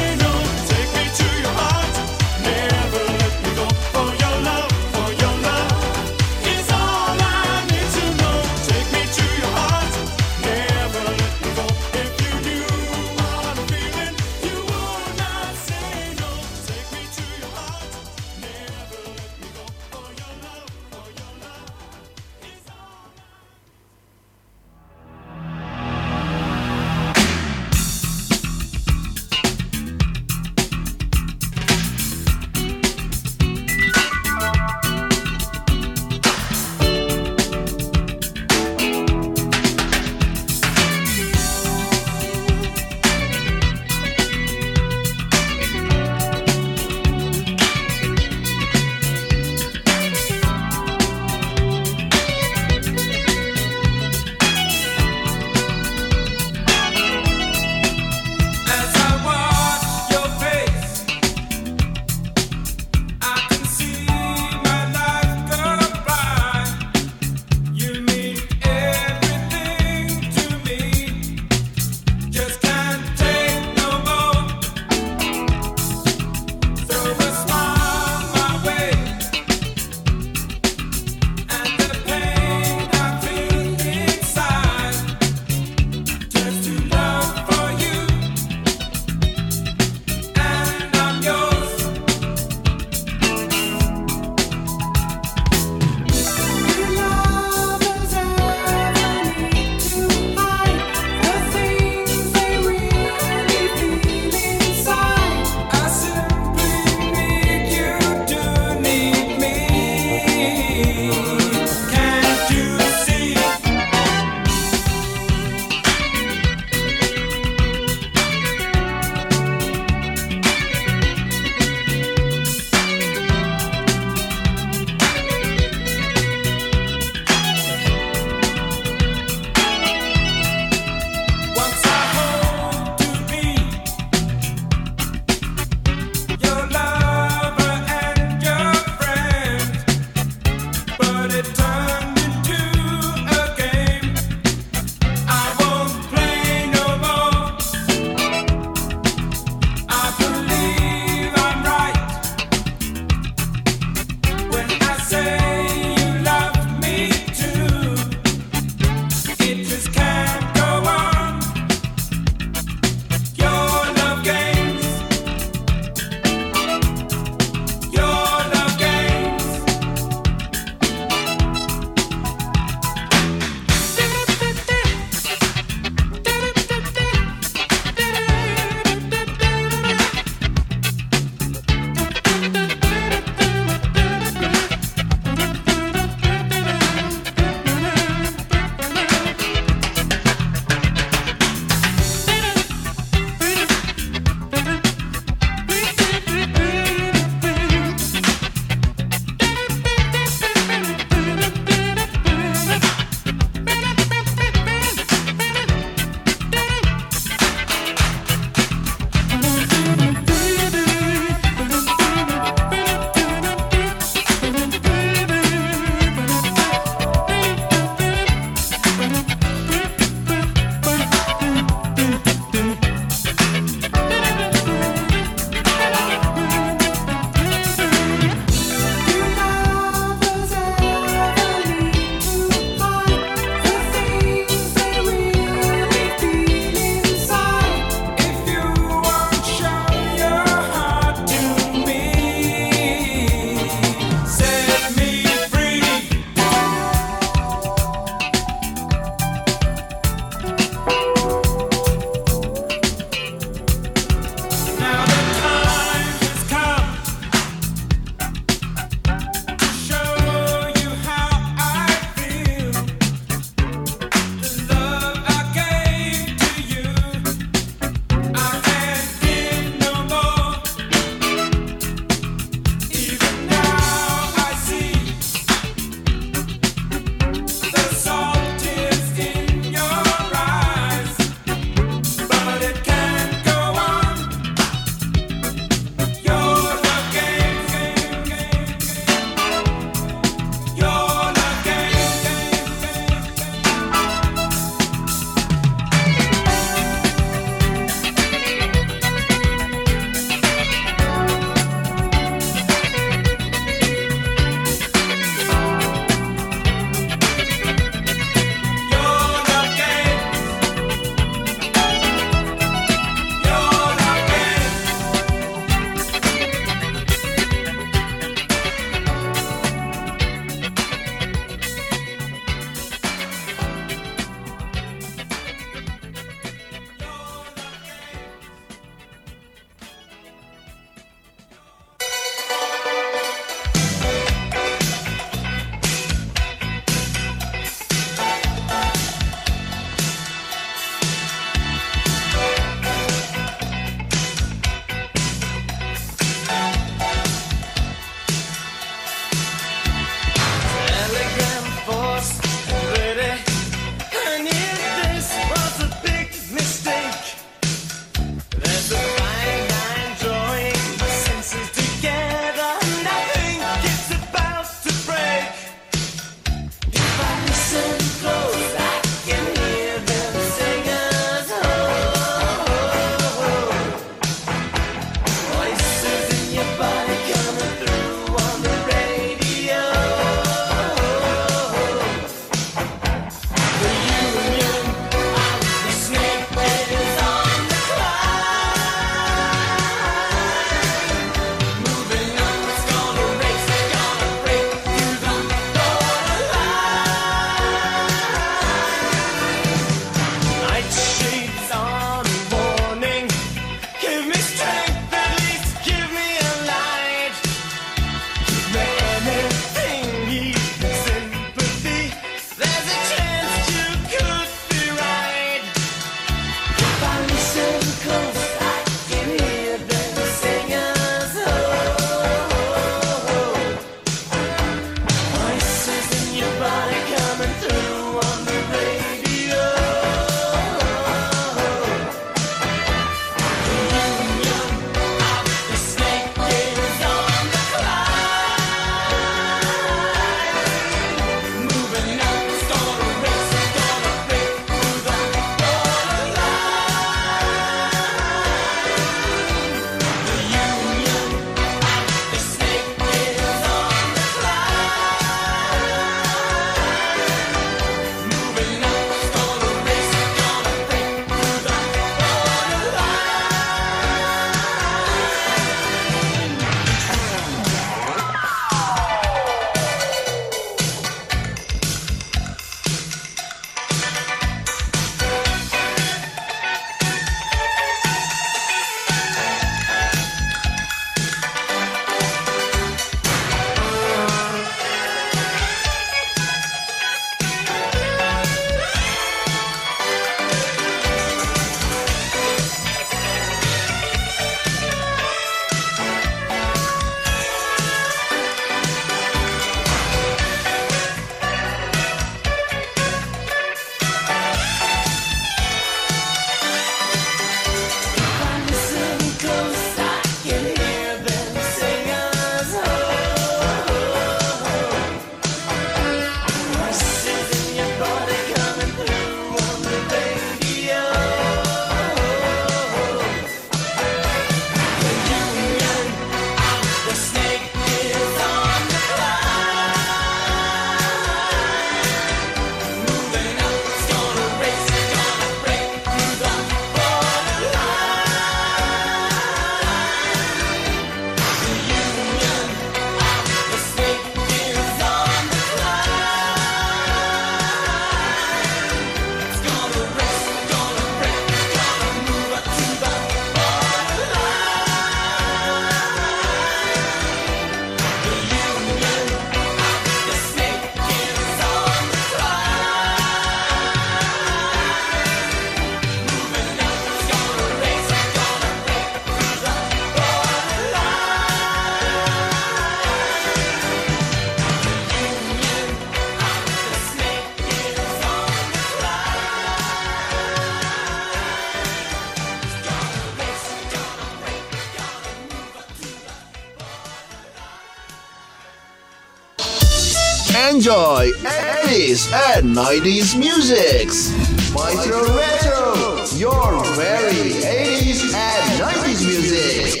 Speaker 1: Enjoy 80s and 90s musics. Maestro Retro, your very 80s and 90s music.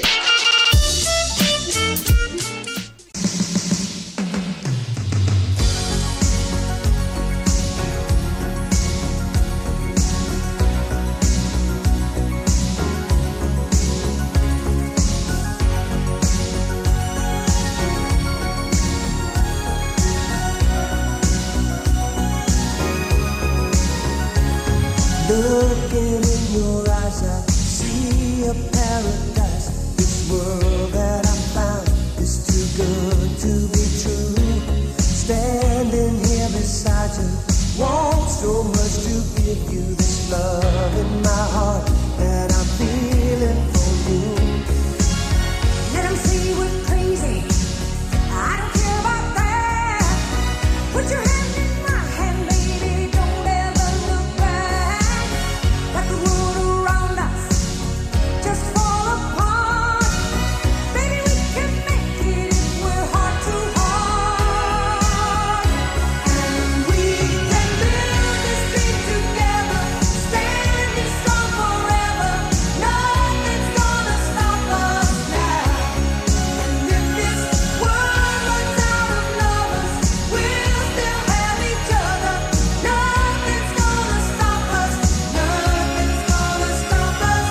Speaker 5: Looking in your eyes, I see a paradise. This world that I found is too good to be true. Standing here beside you, want so much to give you this love in my heart that I'm feeling for you. Let 'em say we're crazy, I don't care about that. Put your hand in my hand, baby, don't ever look back. Let the world around us just fall apart. Baby, we can make it if we're heart to heart. And we can build this thing together, standing strong forever. Nothing's gonna stop us now. And if this world runs out of lovers, we'll still have each other. Nothing's gonna stop us. Nothing's gonna stop us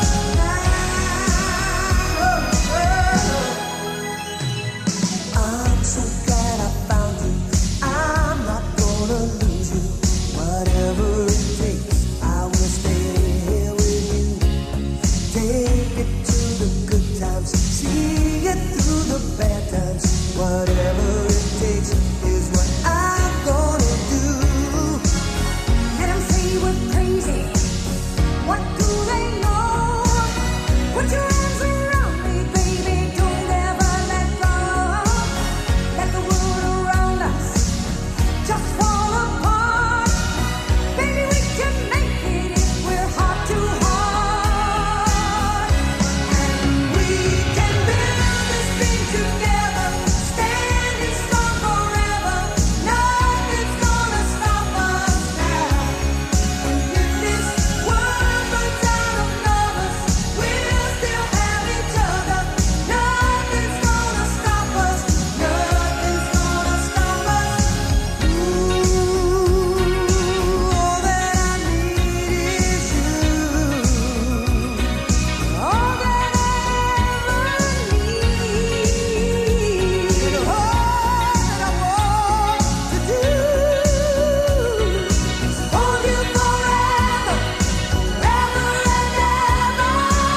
Speaker 5: now. I'm so glad I found you. I'm not gonna lose you. Whatever it takes, I will stay here with you. Take it to the good times, see it through the bad times. Whatever it takes is what I'm gonna do. Let 'em say we're crazy. What do they know? Put your arms around me, baby, don't ever let go. Let the world around us just fall apart. Baby, we can make it if we're heart to heart. And we can build this thing together, standing strong forever. Nothing's gonna stop us now. And if this world runs out of lovers, we'll still have each other. Nothing's gonna stop us. Nothing's gonna stop us. Ooh, all that I need is you. All that I ever need. All that I want to do is hold you forever, forever and ever.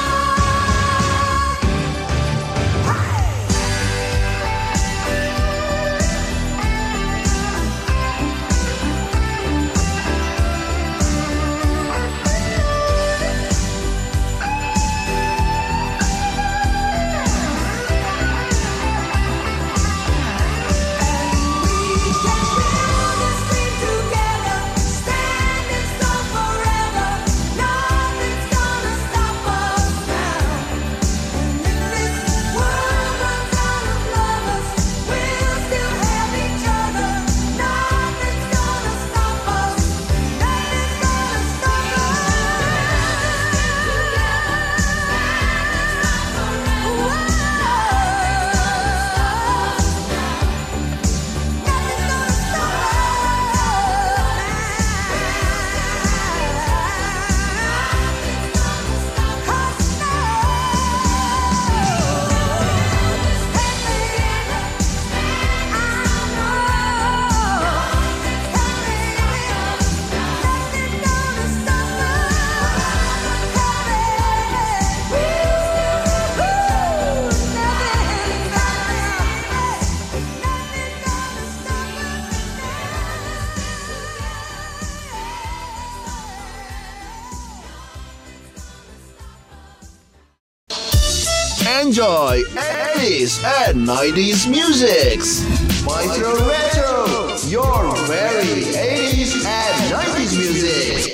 Speaker 1: Enjoy 80s and 90s musics. Maestro Retro, your very 80s and 90s music.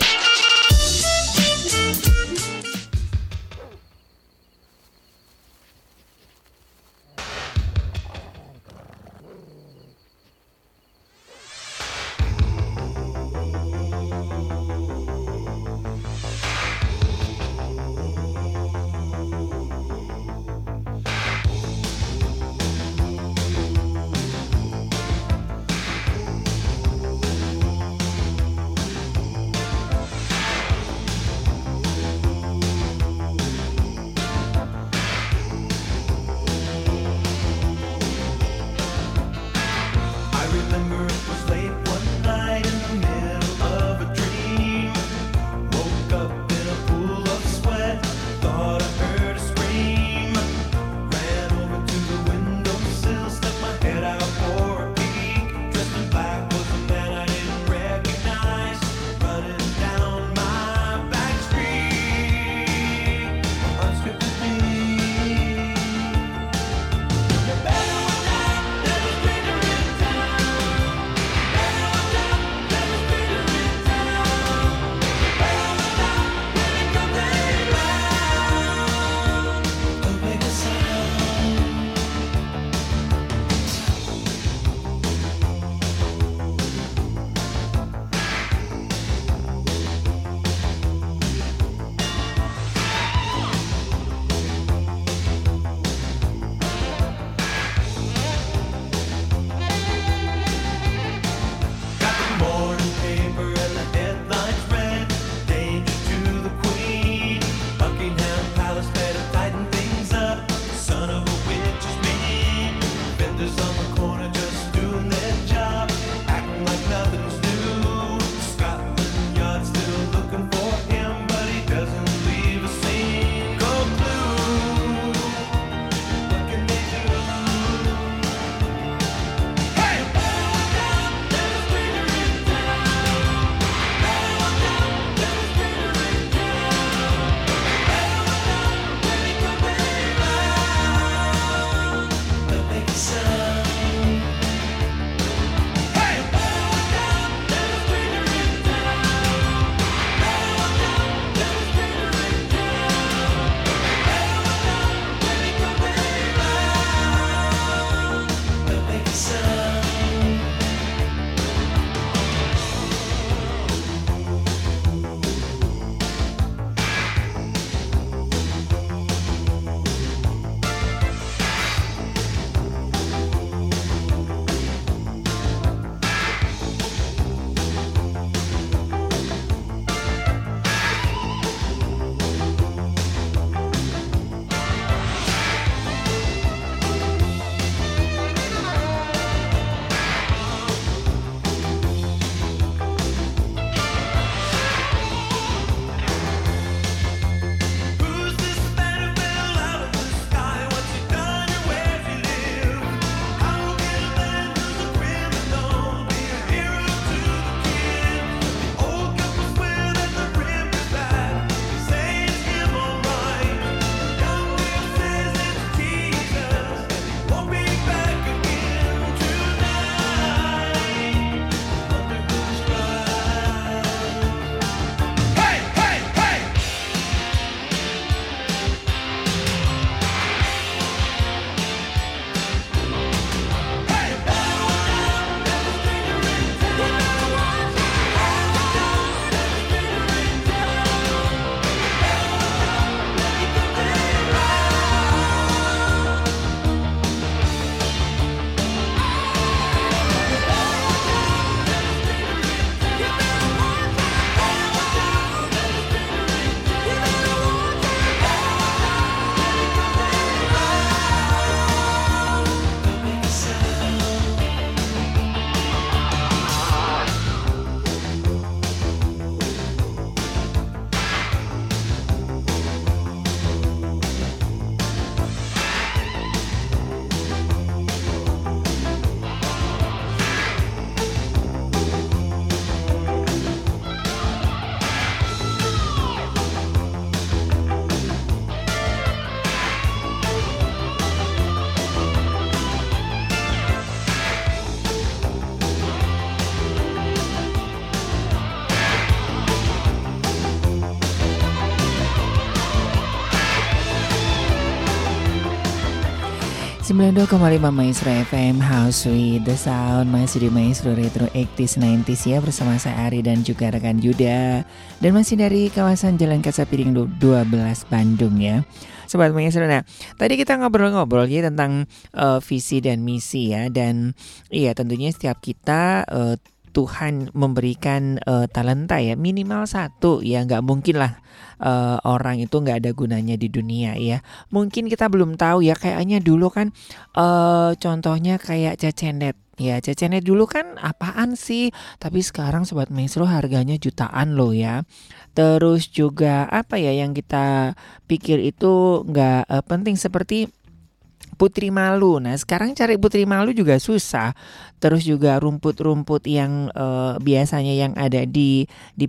Speaker 4: 92,5 Maestro FM House with the Sound. Masih di Maestro Retro 80s 90s ya, bersama saya Ari dan juga rekan Yuda. Dan masih dari kawasan Jalan Kaca Piring 12 Bandung ya, Sobat Maestro. Nah, tadi kita ngobrol-ngobrol ya tentang visi dan misi ya. Dan iya, tentunya setiap kita Tuhan memberikan talenta ya, minimal satu ya, nggak mungkin lah orang itu nggak ada gunanya di dunia ya. Mungkin kita belum tahu ya, kayaknya dulu kan contohnya kayak Cecenet. Ya, Cecenet dulu kan apaan sih? Tapi sekarang Sobat Maestro harganya jutaan loh ya. Terus juga apa ya yang kita pikir itu nggak penting, seperti Putri Malu. Nah, sekarang cari Putri Malu juga susah. Terus juga rumput-rumput yang biasanya yang ada di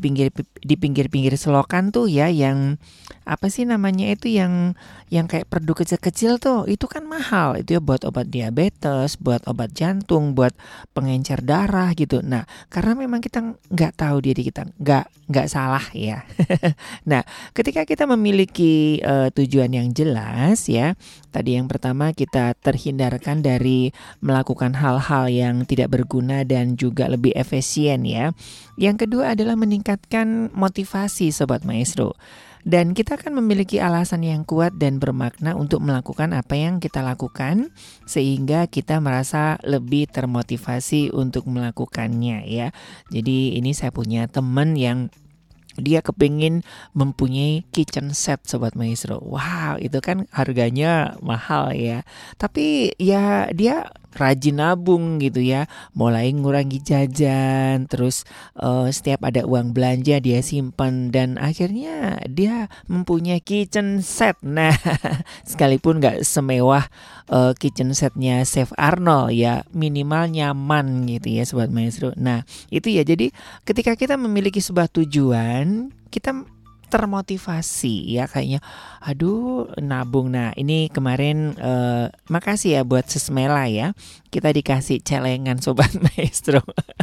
Speaker 4: pinggir selokan tuh ya, yang apa sih namanya itu, yang kayak perdu kecil-kecil tuh, itu kan mahal. Itu ya buat obat diabetes, buat obat jantung, buat pengencer darah gitu. Nah, karena memang kita nggak tahu diri kita, nggak salah ya. Nah, ketika kita memiliki tujuan yang jelas ya, tadi yang pertama kita terhindarkan dari melakukan hal-hal yang tidak berguna dan juga lebih efisien ya. Yang kedua adalah meningkatkan motivasi Sobat Maestro. Dan kita akan memiliki alasan yang kuat dan bermakna untuk melakukan apa yang kita lakukan, sehingga kita merasa lebih termotivasi untuk melakukannya ya. Jadi ini saya punya teman yang dia kepingin mempunyai kitchen set Sobat Maestro. Wow, itu kan harganya mahal ya. Tapi ya dia rajin nabung gitu ya, mulai ngurangi jajan, terus setiap ada uang belanja dia simpan, dan akhirnya dia mempunyai kitchen set. Nah, sekalipun gak semewah kitchen setnya Chef Arnold ya, minimal nyaman gitu ya Sobat Maestro. Nah, itu ya, jadi ketika kita memiliki sebuah tujuan, kita termotivasi ya, kayaknya aduh nabung. Nah, ini kemarin makasih ya buat Sesmela ya, kita dikasih celengan Sobat Maestro.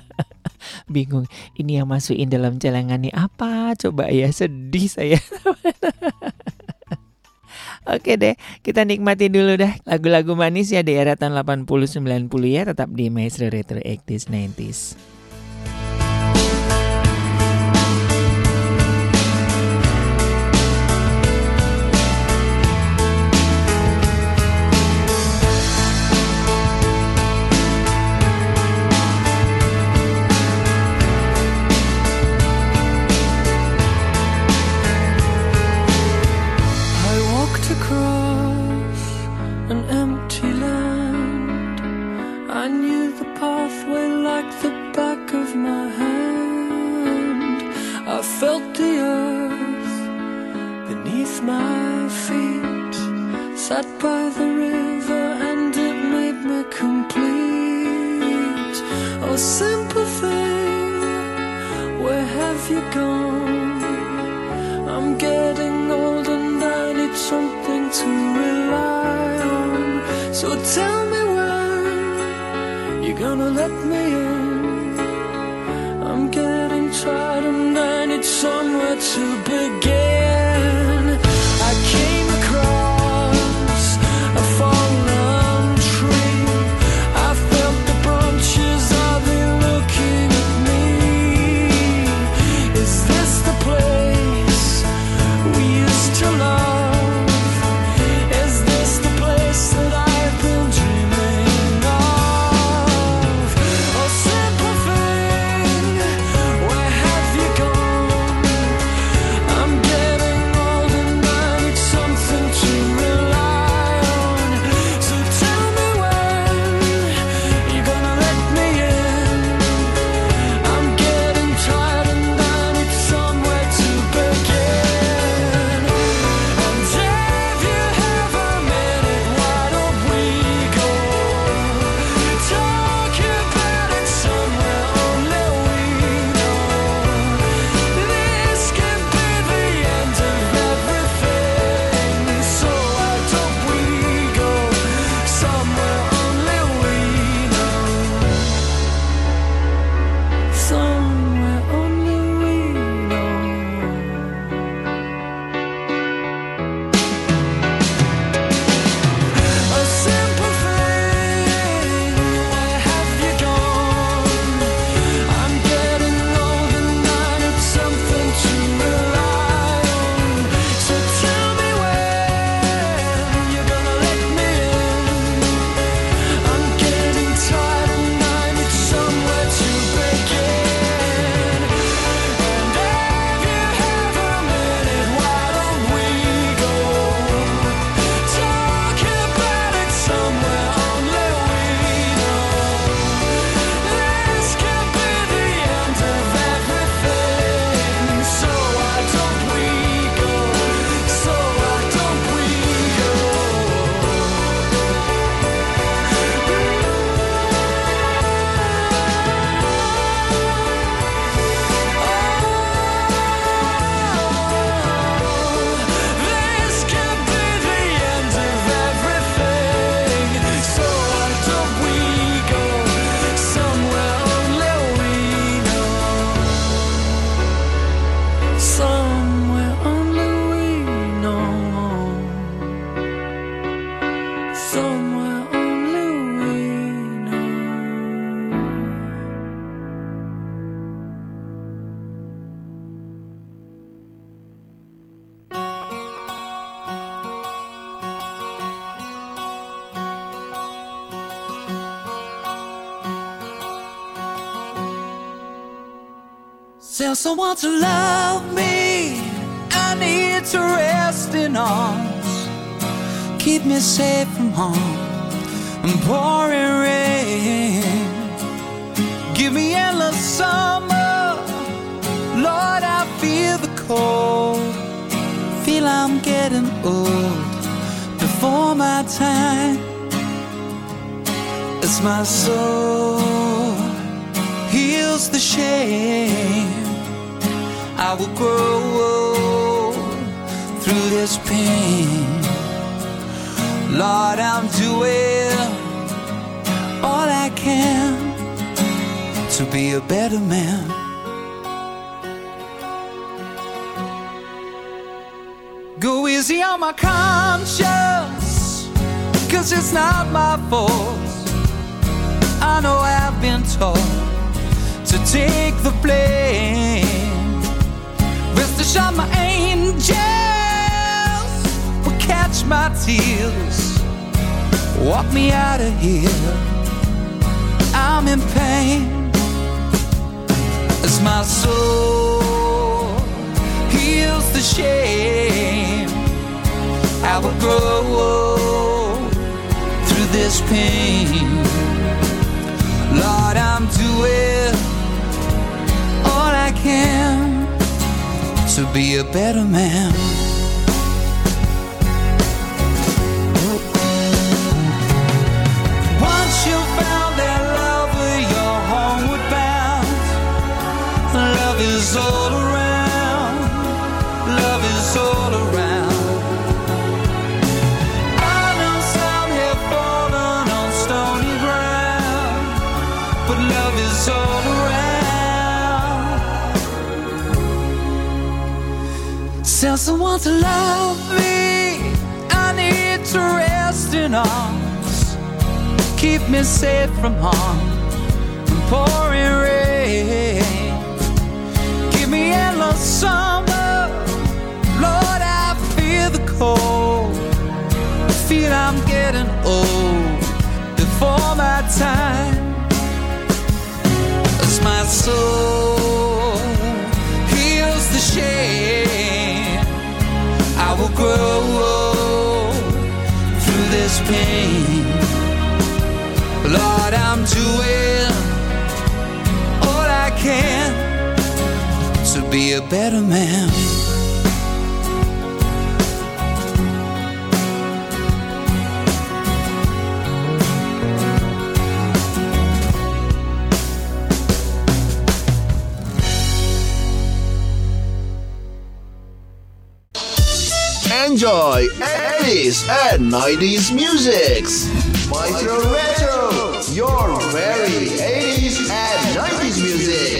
Speaker 4: Bingung ini yang masukin dalam celengan nih apa, coba ya, sedih saya. Oke deh, kita nikmati dulu dah lagu-lagu manis ya di era tahun 80-90 ya, tetap di Maestro Retro 80s 90s.
Speaker 8: Sat by the river and it made me complete. Oh, simple thing, where have you gone? I'm getting old and I need something to rely on. So tell me when you're gonna let me in. I'm getting tired and I need somewhere to begin. I came across a fallen tree. I felt the branches of it looking at me. Is this the place we used to love? Is this the place that I've been dreaming of? Oh, simple thing, where have you gone? I'm Tell someone to love me. I need to rest in arms. Keep me safe from harm and pouring rain. Give me endless summer. Lord, I feel the cold. Feel I'm getting old before my time. As my soul heals the shame, I will grow through this pain. Lord, I'm doing all I can to be a better man. Go easy on my conscience, 'cause it's not my fault. I know I've been taught to take the blame. Rest assured my angels will catch my tears, walk me out of here. I'm in pain as my soul heals the shame. I will grow through this pain. Lord, I'm doing all I can to be a better man. Once you found that love, you're homeward bound. Love is all around. Love is all around. I know some have fallen on stony ground, but love is all around. Tell someone to love me. I need to rest in arms. Keep me safe from harm and pouring rain. Give me endless summer. Lord, I feel the cold. Feel I'm getting old before my time. As my soul heals the shame, I will grow through this pain. Lord, I'm doing all I can to be a better man.
Speaker 1: Enjoy 80s and 90s musics. Maestro Retro, your very 80s and 90s music.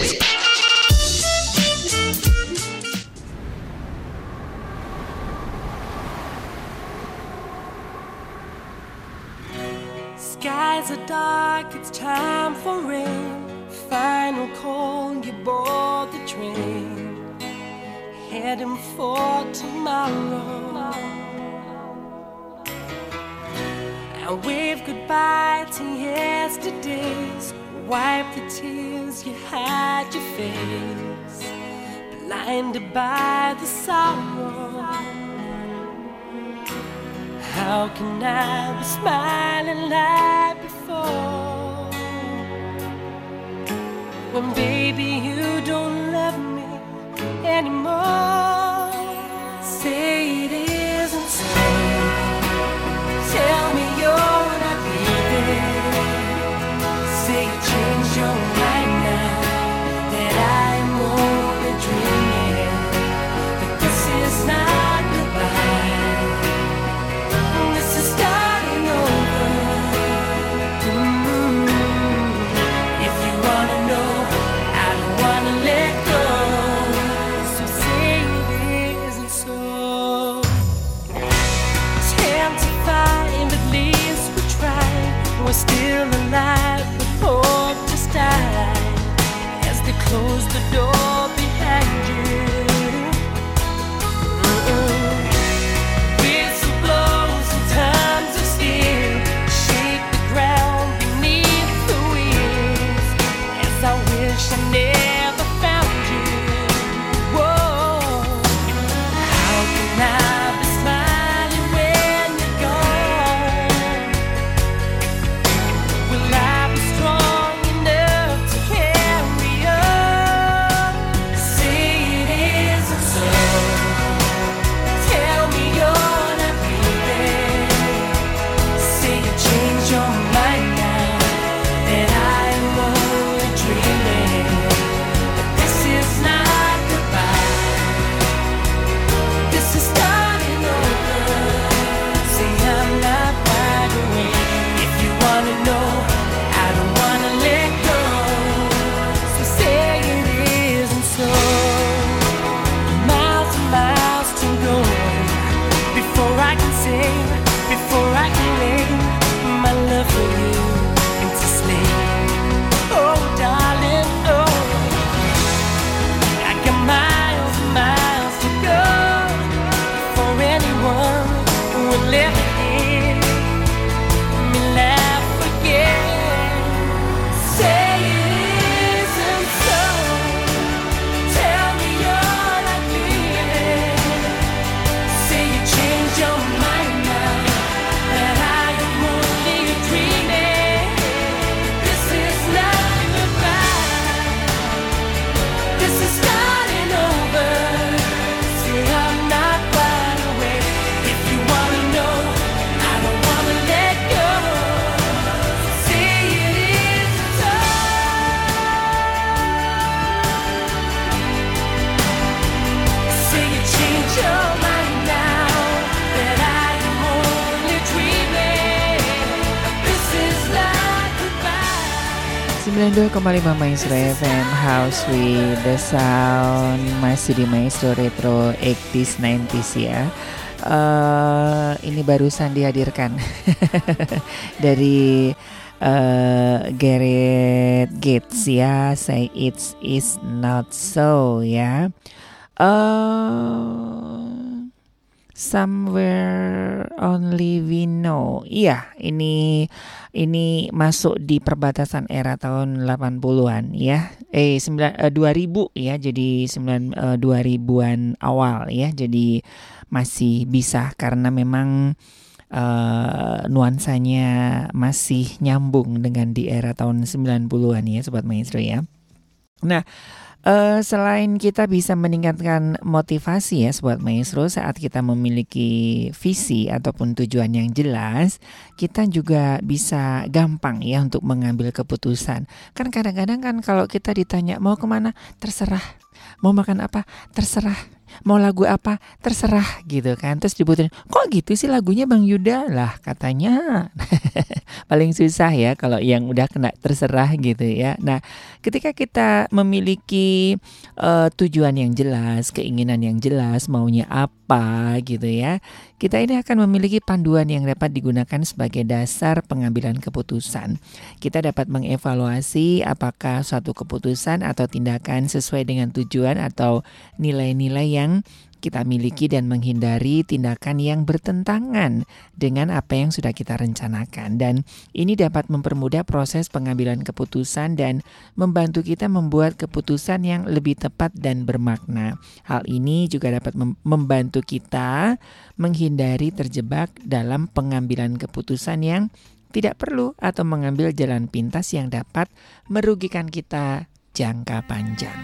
Speaker 2: Skies are dark, it's time for rain. Final call, you board the train. Heading for tomorrow. And wave goodbye to yesterdays. Wipe the tears, you hide your face, blinded by the sorrow. How can I be smiling like before, when baby you don't love me anymore? Say it isn't so. Tell me you're not leaving. Say you changed your mind now, that I'm only dreaming, that this is not goodbye, this is starting over. If you wanna know, I don't wanna let go.
Speaker 4: 92,5 Maestro FM House with the Sound. Masih di Maestro Retro 80s 90s ya. Ini barusan dihadirkan dari Gareth Gates ya, Say It Is Not So ya. Somewhere Only We Know. Iya, ini masuk di perbatasan era tahun 80-an ya. 2000 ya. Jadi 2000-an awal ya. Jadi masih bisa karena memang nuansanya masih nyambung dengan di era tahun 90-an ya Sobat Maestro ya. Nah, selain kita bisa meningkatkan motivasi ya Sobat Maestro saat kita memiliki visi ataupun tujuan yang jelas, kita juga bisa gampang ya untuk mengambil keputusan. Kan kadang-kadang kan kalau kita ditanya mau kemana, terserah. Mau makan apa, terserah. Mau lagu apa, terserah gitu kan. Terus dibutuhin, kok gitu sih lagunya Bang Yuda? Lah katanya paling susah ya kalau yang udah kena terserah gitu ya. Nah ketika kita memiliki tujuan yang jelas, keinginan yang jelas, maunya apa gitu ya, kita ini akan memiliki panduan yang dapat digunakan sebagai dasar pengambilan keputusan. Kita dapat mengevaluasi apakah suatu keputusan atau tindakan sesuai dengan tujuan atau nilai-nilai yang kita miliki dan menghindari tindakan yang bertentangan dengan apa yang sudah kita rencanakan. Dan ini dapat mempermudah proses pengambilan keputusan dan membantu kita membuat keputusan yang lebih tepat dan bermakna. Hal ini juga dapat membantu kita menghindari terjebak dalam pengambilan keputusan yang tidak perlu atau mengambil jalan pintas yang dapat merugikan kita jangka panjang.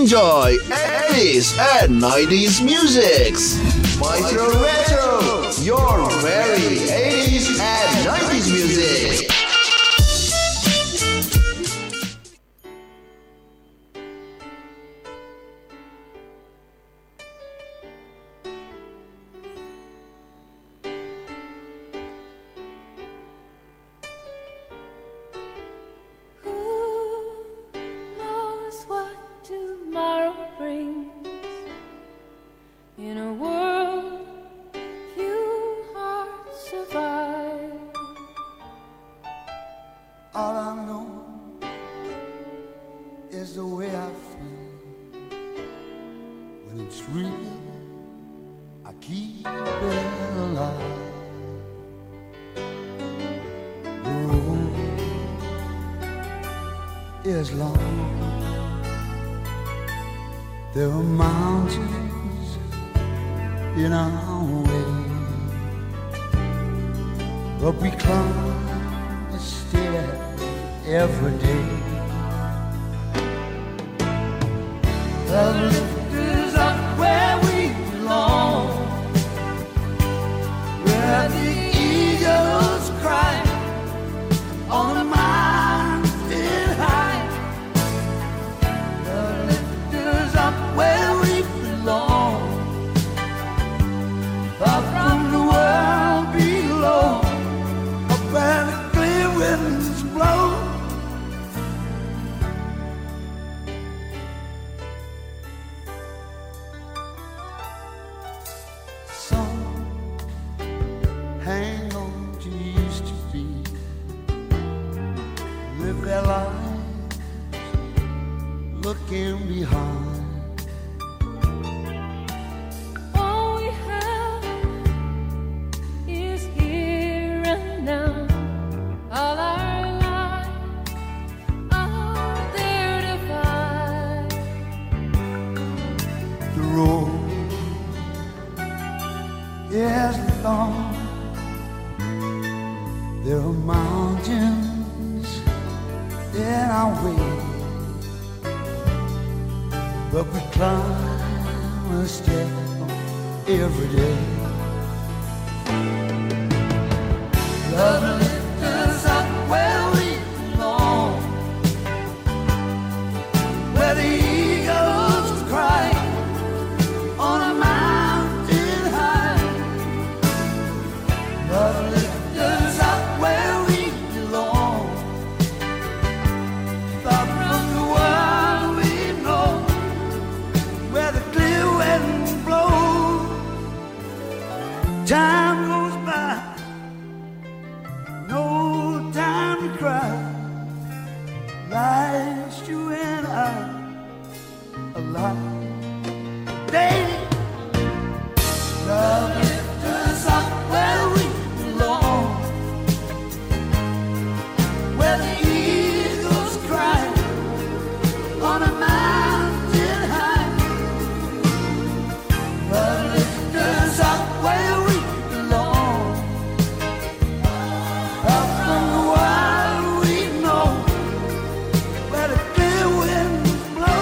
Speaker 1: enjoy 80s and 90s musics. Maestro Retro, your very 80s and 90s music.
Speaker 2: In a world few hearts survive.
Speaker 5: All I know is the way I feel. When it's real, I keep it alive. The road is long. There are mountains in our way, but we climb a stair every day. The lift is up where we belong, where the eagles cry on the mountain high. The lift is up where we belong, far from the world below, up where the clear winds blow. Some hang on to used to be, live their lives looking behind. There are mountains in our way, but we climb a step every day. Love lifts us up where we belong, where the eagles cry on a mountain high. Love lifts us up where we belong, far from the world we know, where the clear winds blow. Time goes by, no time to cry. Life's you and I alive. Daily, love lifts us up where we belong, where the eagles cry on a mountain high. Love lifts us up where we belong, up from the world we know, where the clear winds blow.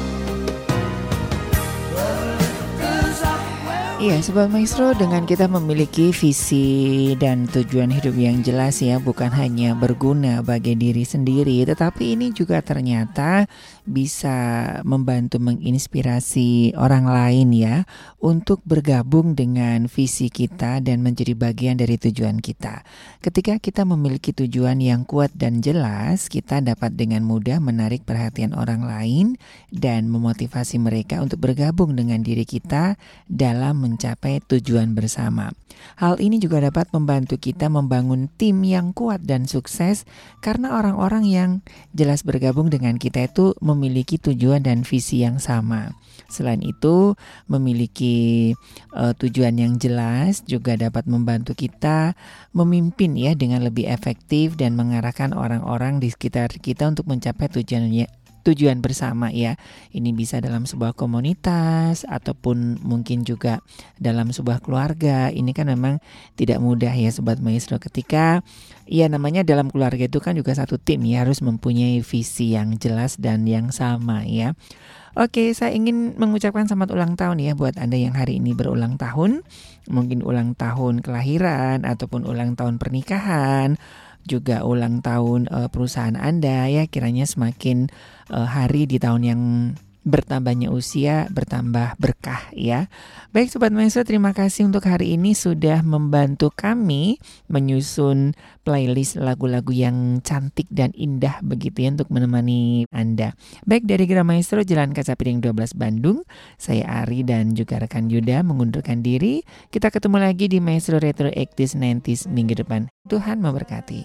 Speaker 5: Love lifts us up where we
Speaker 4: Iya, Sobat Maestro, dengan kita memiliki visi dan tujuan hidup yang jelas ya, bukan hanya berguna bagi diri sendiri, tetapi ini juga ternyata bisa membantu menginspirasi orang lain ya, untuk bergabung dengan visi kita dan menjadi bagian dari tujuan kita. Ketika kita memiliki tujuan yang kuat dan jelas, kita dapat dengan mudah menarik perhatian orang lain dan memotivasi mereka untuk bergabung dengan diri kita dalam mencapai tujuan bersama. Hal ini juga dapat membantu kita membangun tim yang kuat dan sukses karena orang-orang yang jelas bergabung dengan kita itu memiliki tujuan dan visi yang sama. Selain itu, memiliki tujuan yang jelas juga dapat membantu kita memimpin ya dengan lebih efektif dan mengarahkan orang-orang di sekitar kita untuk mencapai tujuan bersama ya. Ini bisa dalam sebuah komunitas ataupun mungkin juga dalam sebuah keluarga. Ini kan memang tidak mudah ya Sobat Maestro, ketika ya namanya dalam keluarga itu kan juga satu tim ya, harus mempunyai visi yang jelas dan yang sama ya. Oke, saya ingin mengucapkan selamat ulang tahun ya buat Anda yang hari ini berulang tahun. Mungkin ulang tahun kelahiran ataupun ulang tahun pernikahan, juga ulang tahun perusahaan Anda ya, kiranya semakin hari di tahun yang bertambahnya usia bertambah berkah ya. Baik Sobat Maestro, terima kasih untuk hari ini sudah membantu kami menyusun playlist lagu-lagu yang cantik dan indah begitu ya untuk menemani Anda. Baik, dari Gira Maestro Jalan Kaca Piring 12 Bandung, saya Ari dan juga rekan Yuda mengundurkan diri. Kita ketemu lagi di Maestro Retro 80s 90s minggu depan. Tuhan memberkati.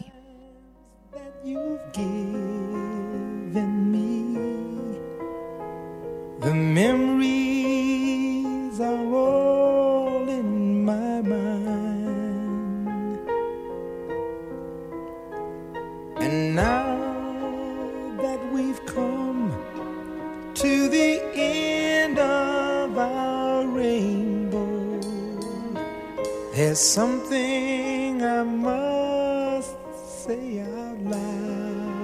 Speaker 8: The memories are all in my mind, and now that we've come to the end of our rainbow, there's something I must say out loud.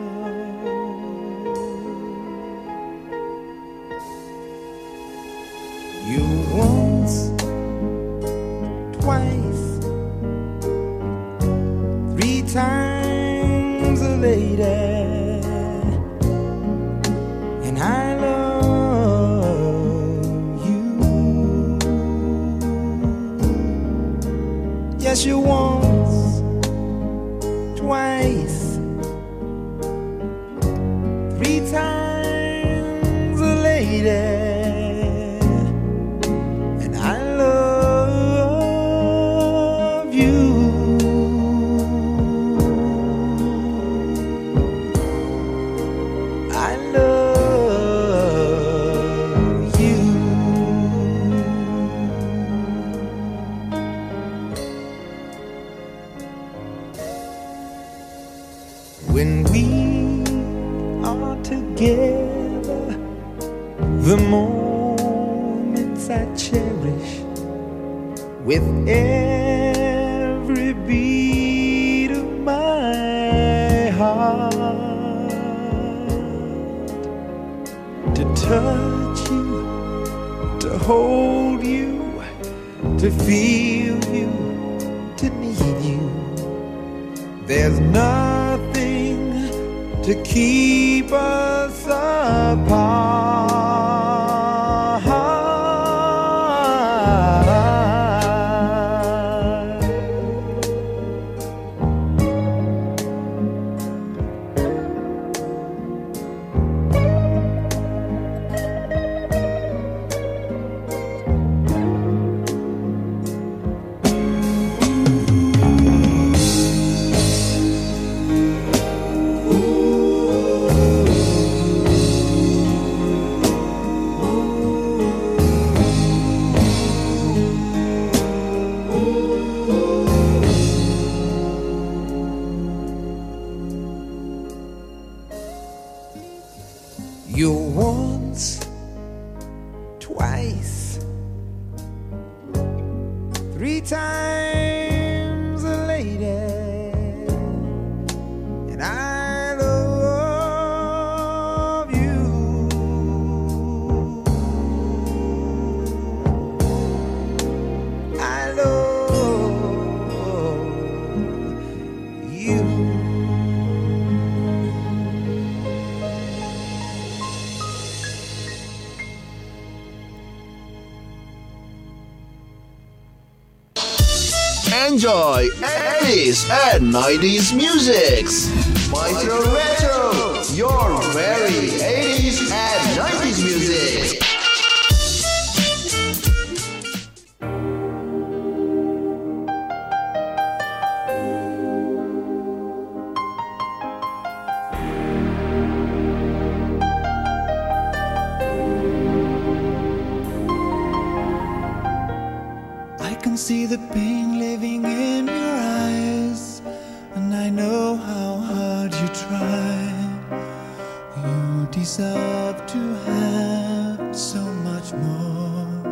Speaker 8: You once, twice, 3 times a lady, and I love you. Yes, you once, twice, 3 times a lady. When we are together, the moments I cherish with every beat of my heart. To touch you, to hold you, to feel you, to need you. There's nothing to keep us apart. You once, twice, 3 times a lady, and I love you. I love you.
Speaker 1: Enjoy 80s and 90s musics. Maestro Retro, your very 80s and 90s music.
Speaker 8: I can see the pain living in your eyes, and I know how hard you try. You
Speaker 11: deserve to have so much more.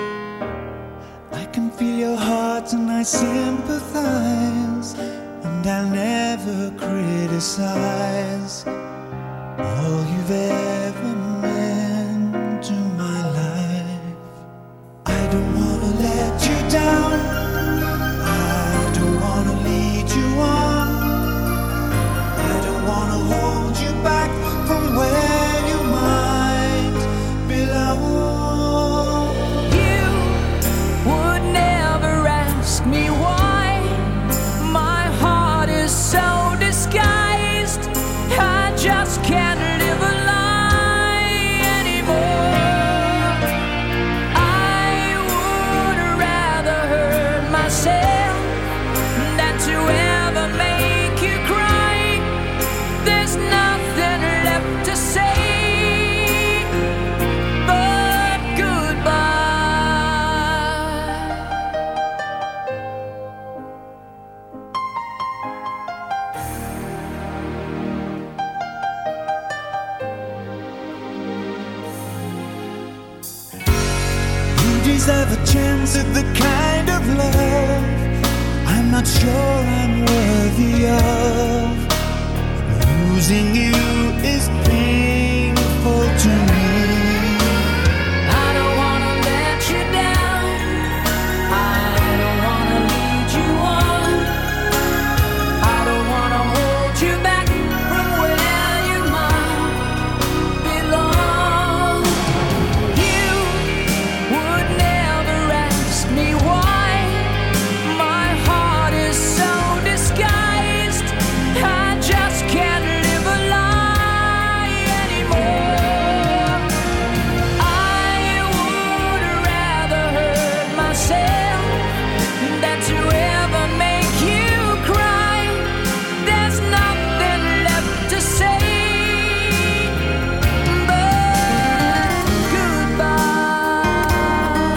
Speaker 11: I can feel your heart and I sympathize, and I'll never criticize all you've ever meant to my life. I don't wanna let you down, I don't wanna lead you on, I don't wanna hold you back from where you might belong.
Speaker 8: You would never ask me why my heart is so disguised. I just can't live a lie anymore. I would rather hurt myself than to ever make you cry. There's nothing left to say but goodbye.
Speaker 11: You deserve a chance at the kind of love I'm not sure I'm worthy of. Losing you is painful to me.
Speaker 8: I don't wanna let you down, I don't wanna lead you on, I don't wanna hold you back from where you might belong. You would never ask me why my heart is so disguised. I just can't live a lie anymore. I would rather hurt myself than to ever make you cry. There's nothing left to say but goodbye.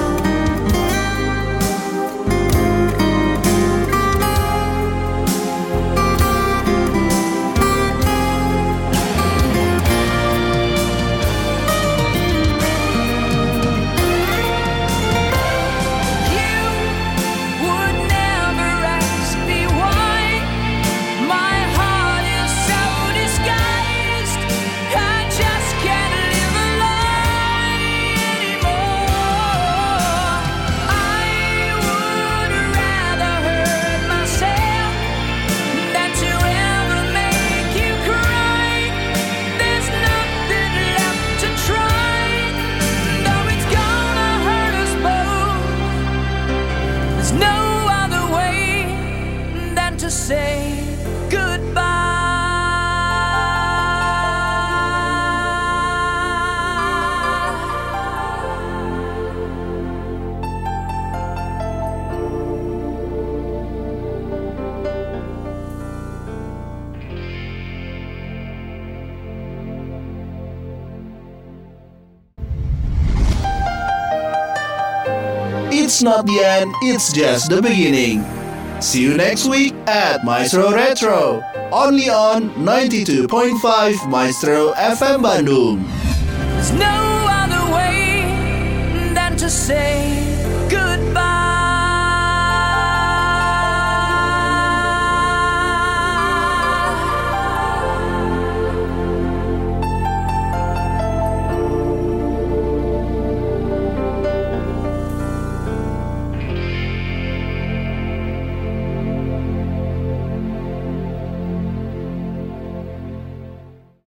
Speaker 8: You would never ask me why my heart is so disguised. I just can't live a lie anymore. I would rather hurt myself than to ever make you cry. There's nothing left to try, though it's gonna hurt us both. There's no other way than to say
Speaker 1: It's not the end, it's just the beginning. See you next week at Maestro Retro, only on 92.5 Maestro FM Bandung.
Speaker 8: there's no other way than to say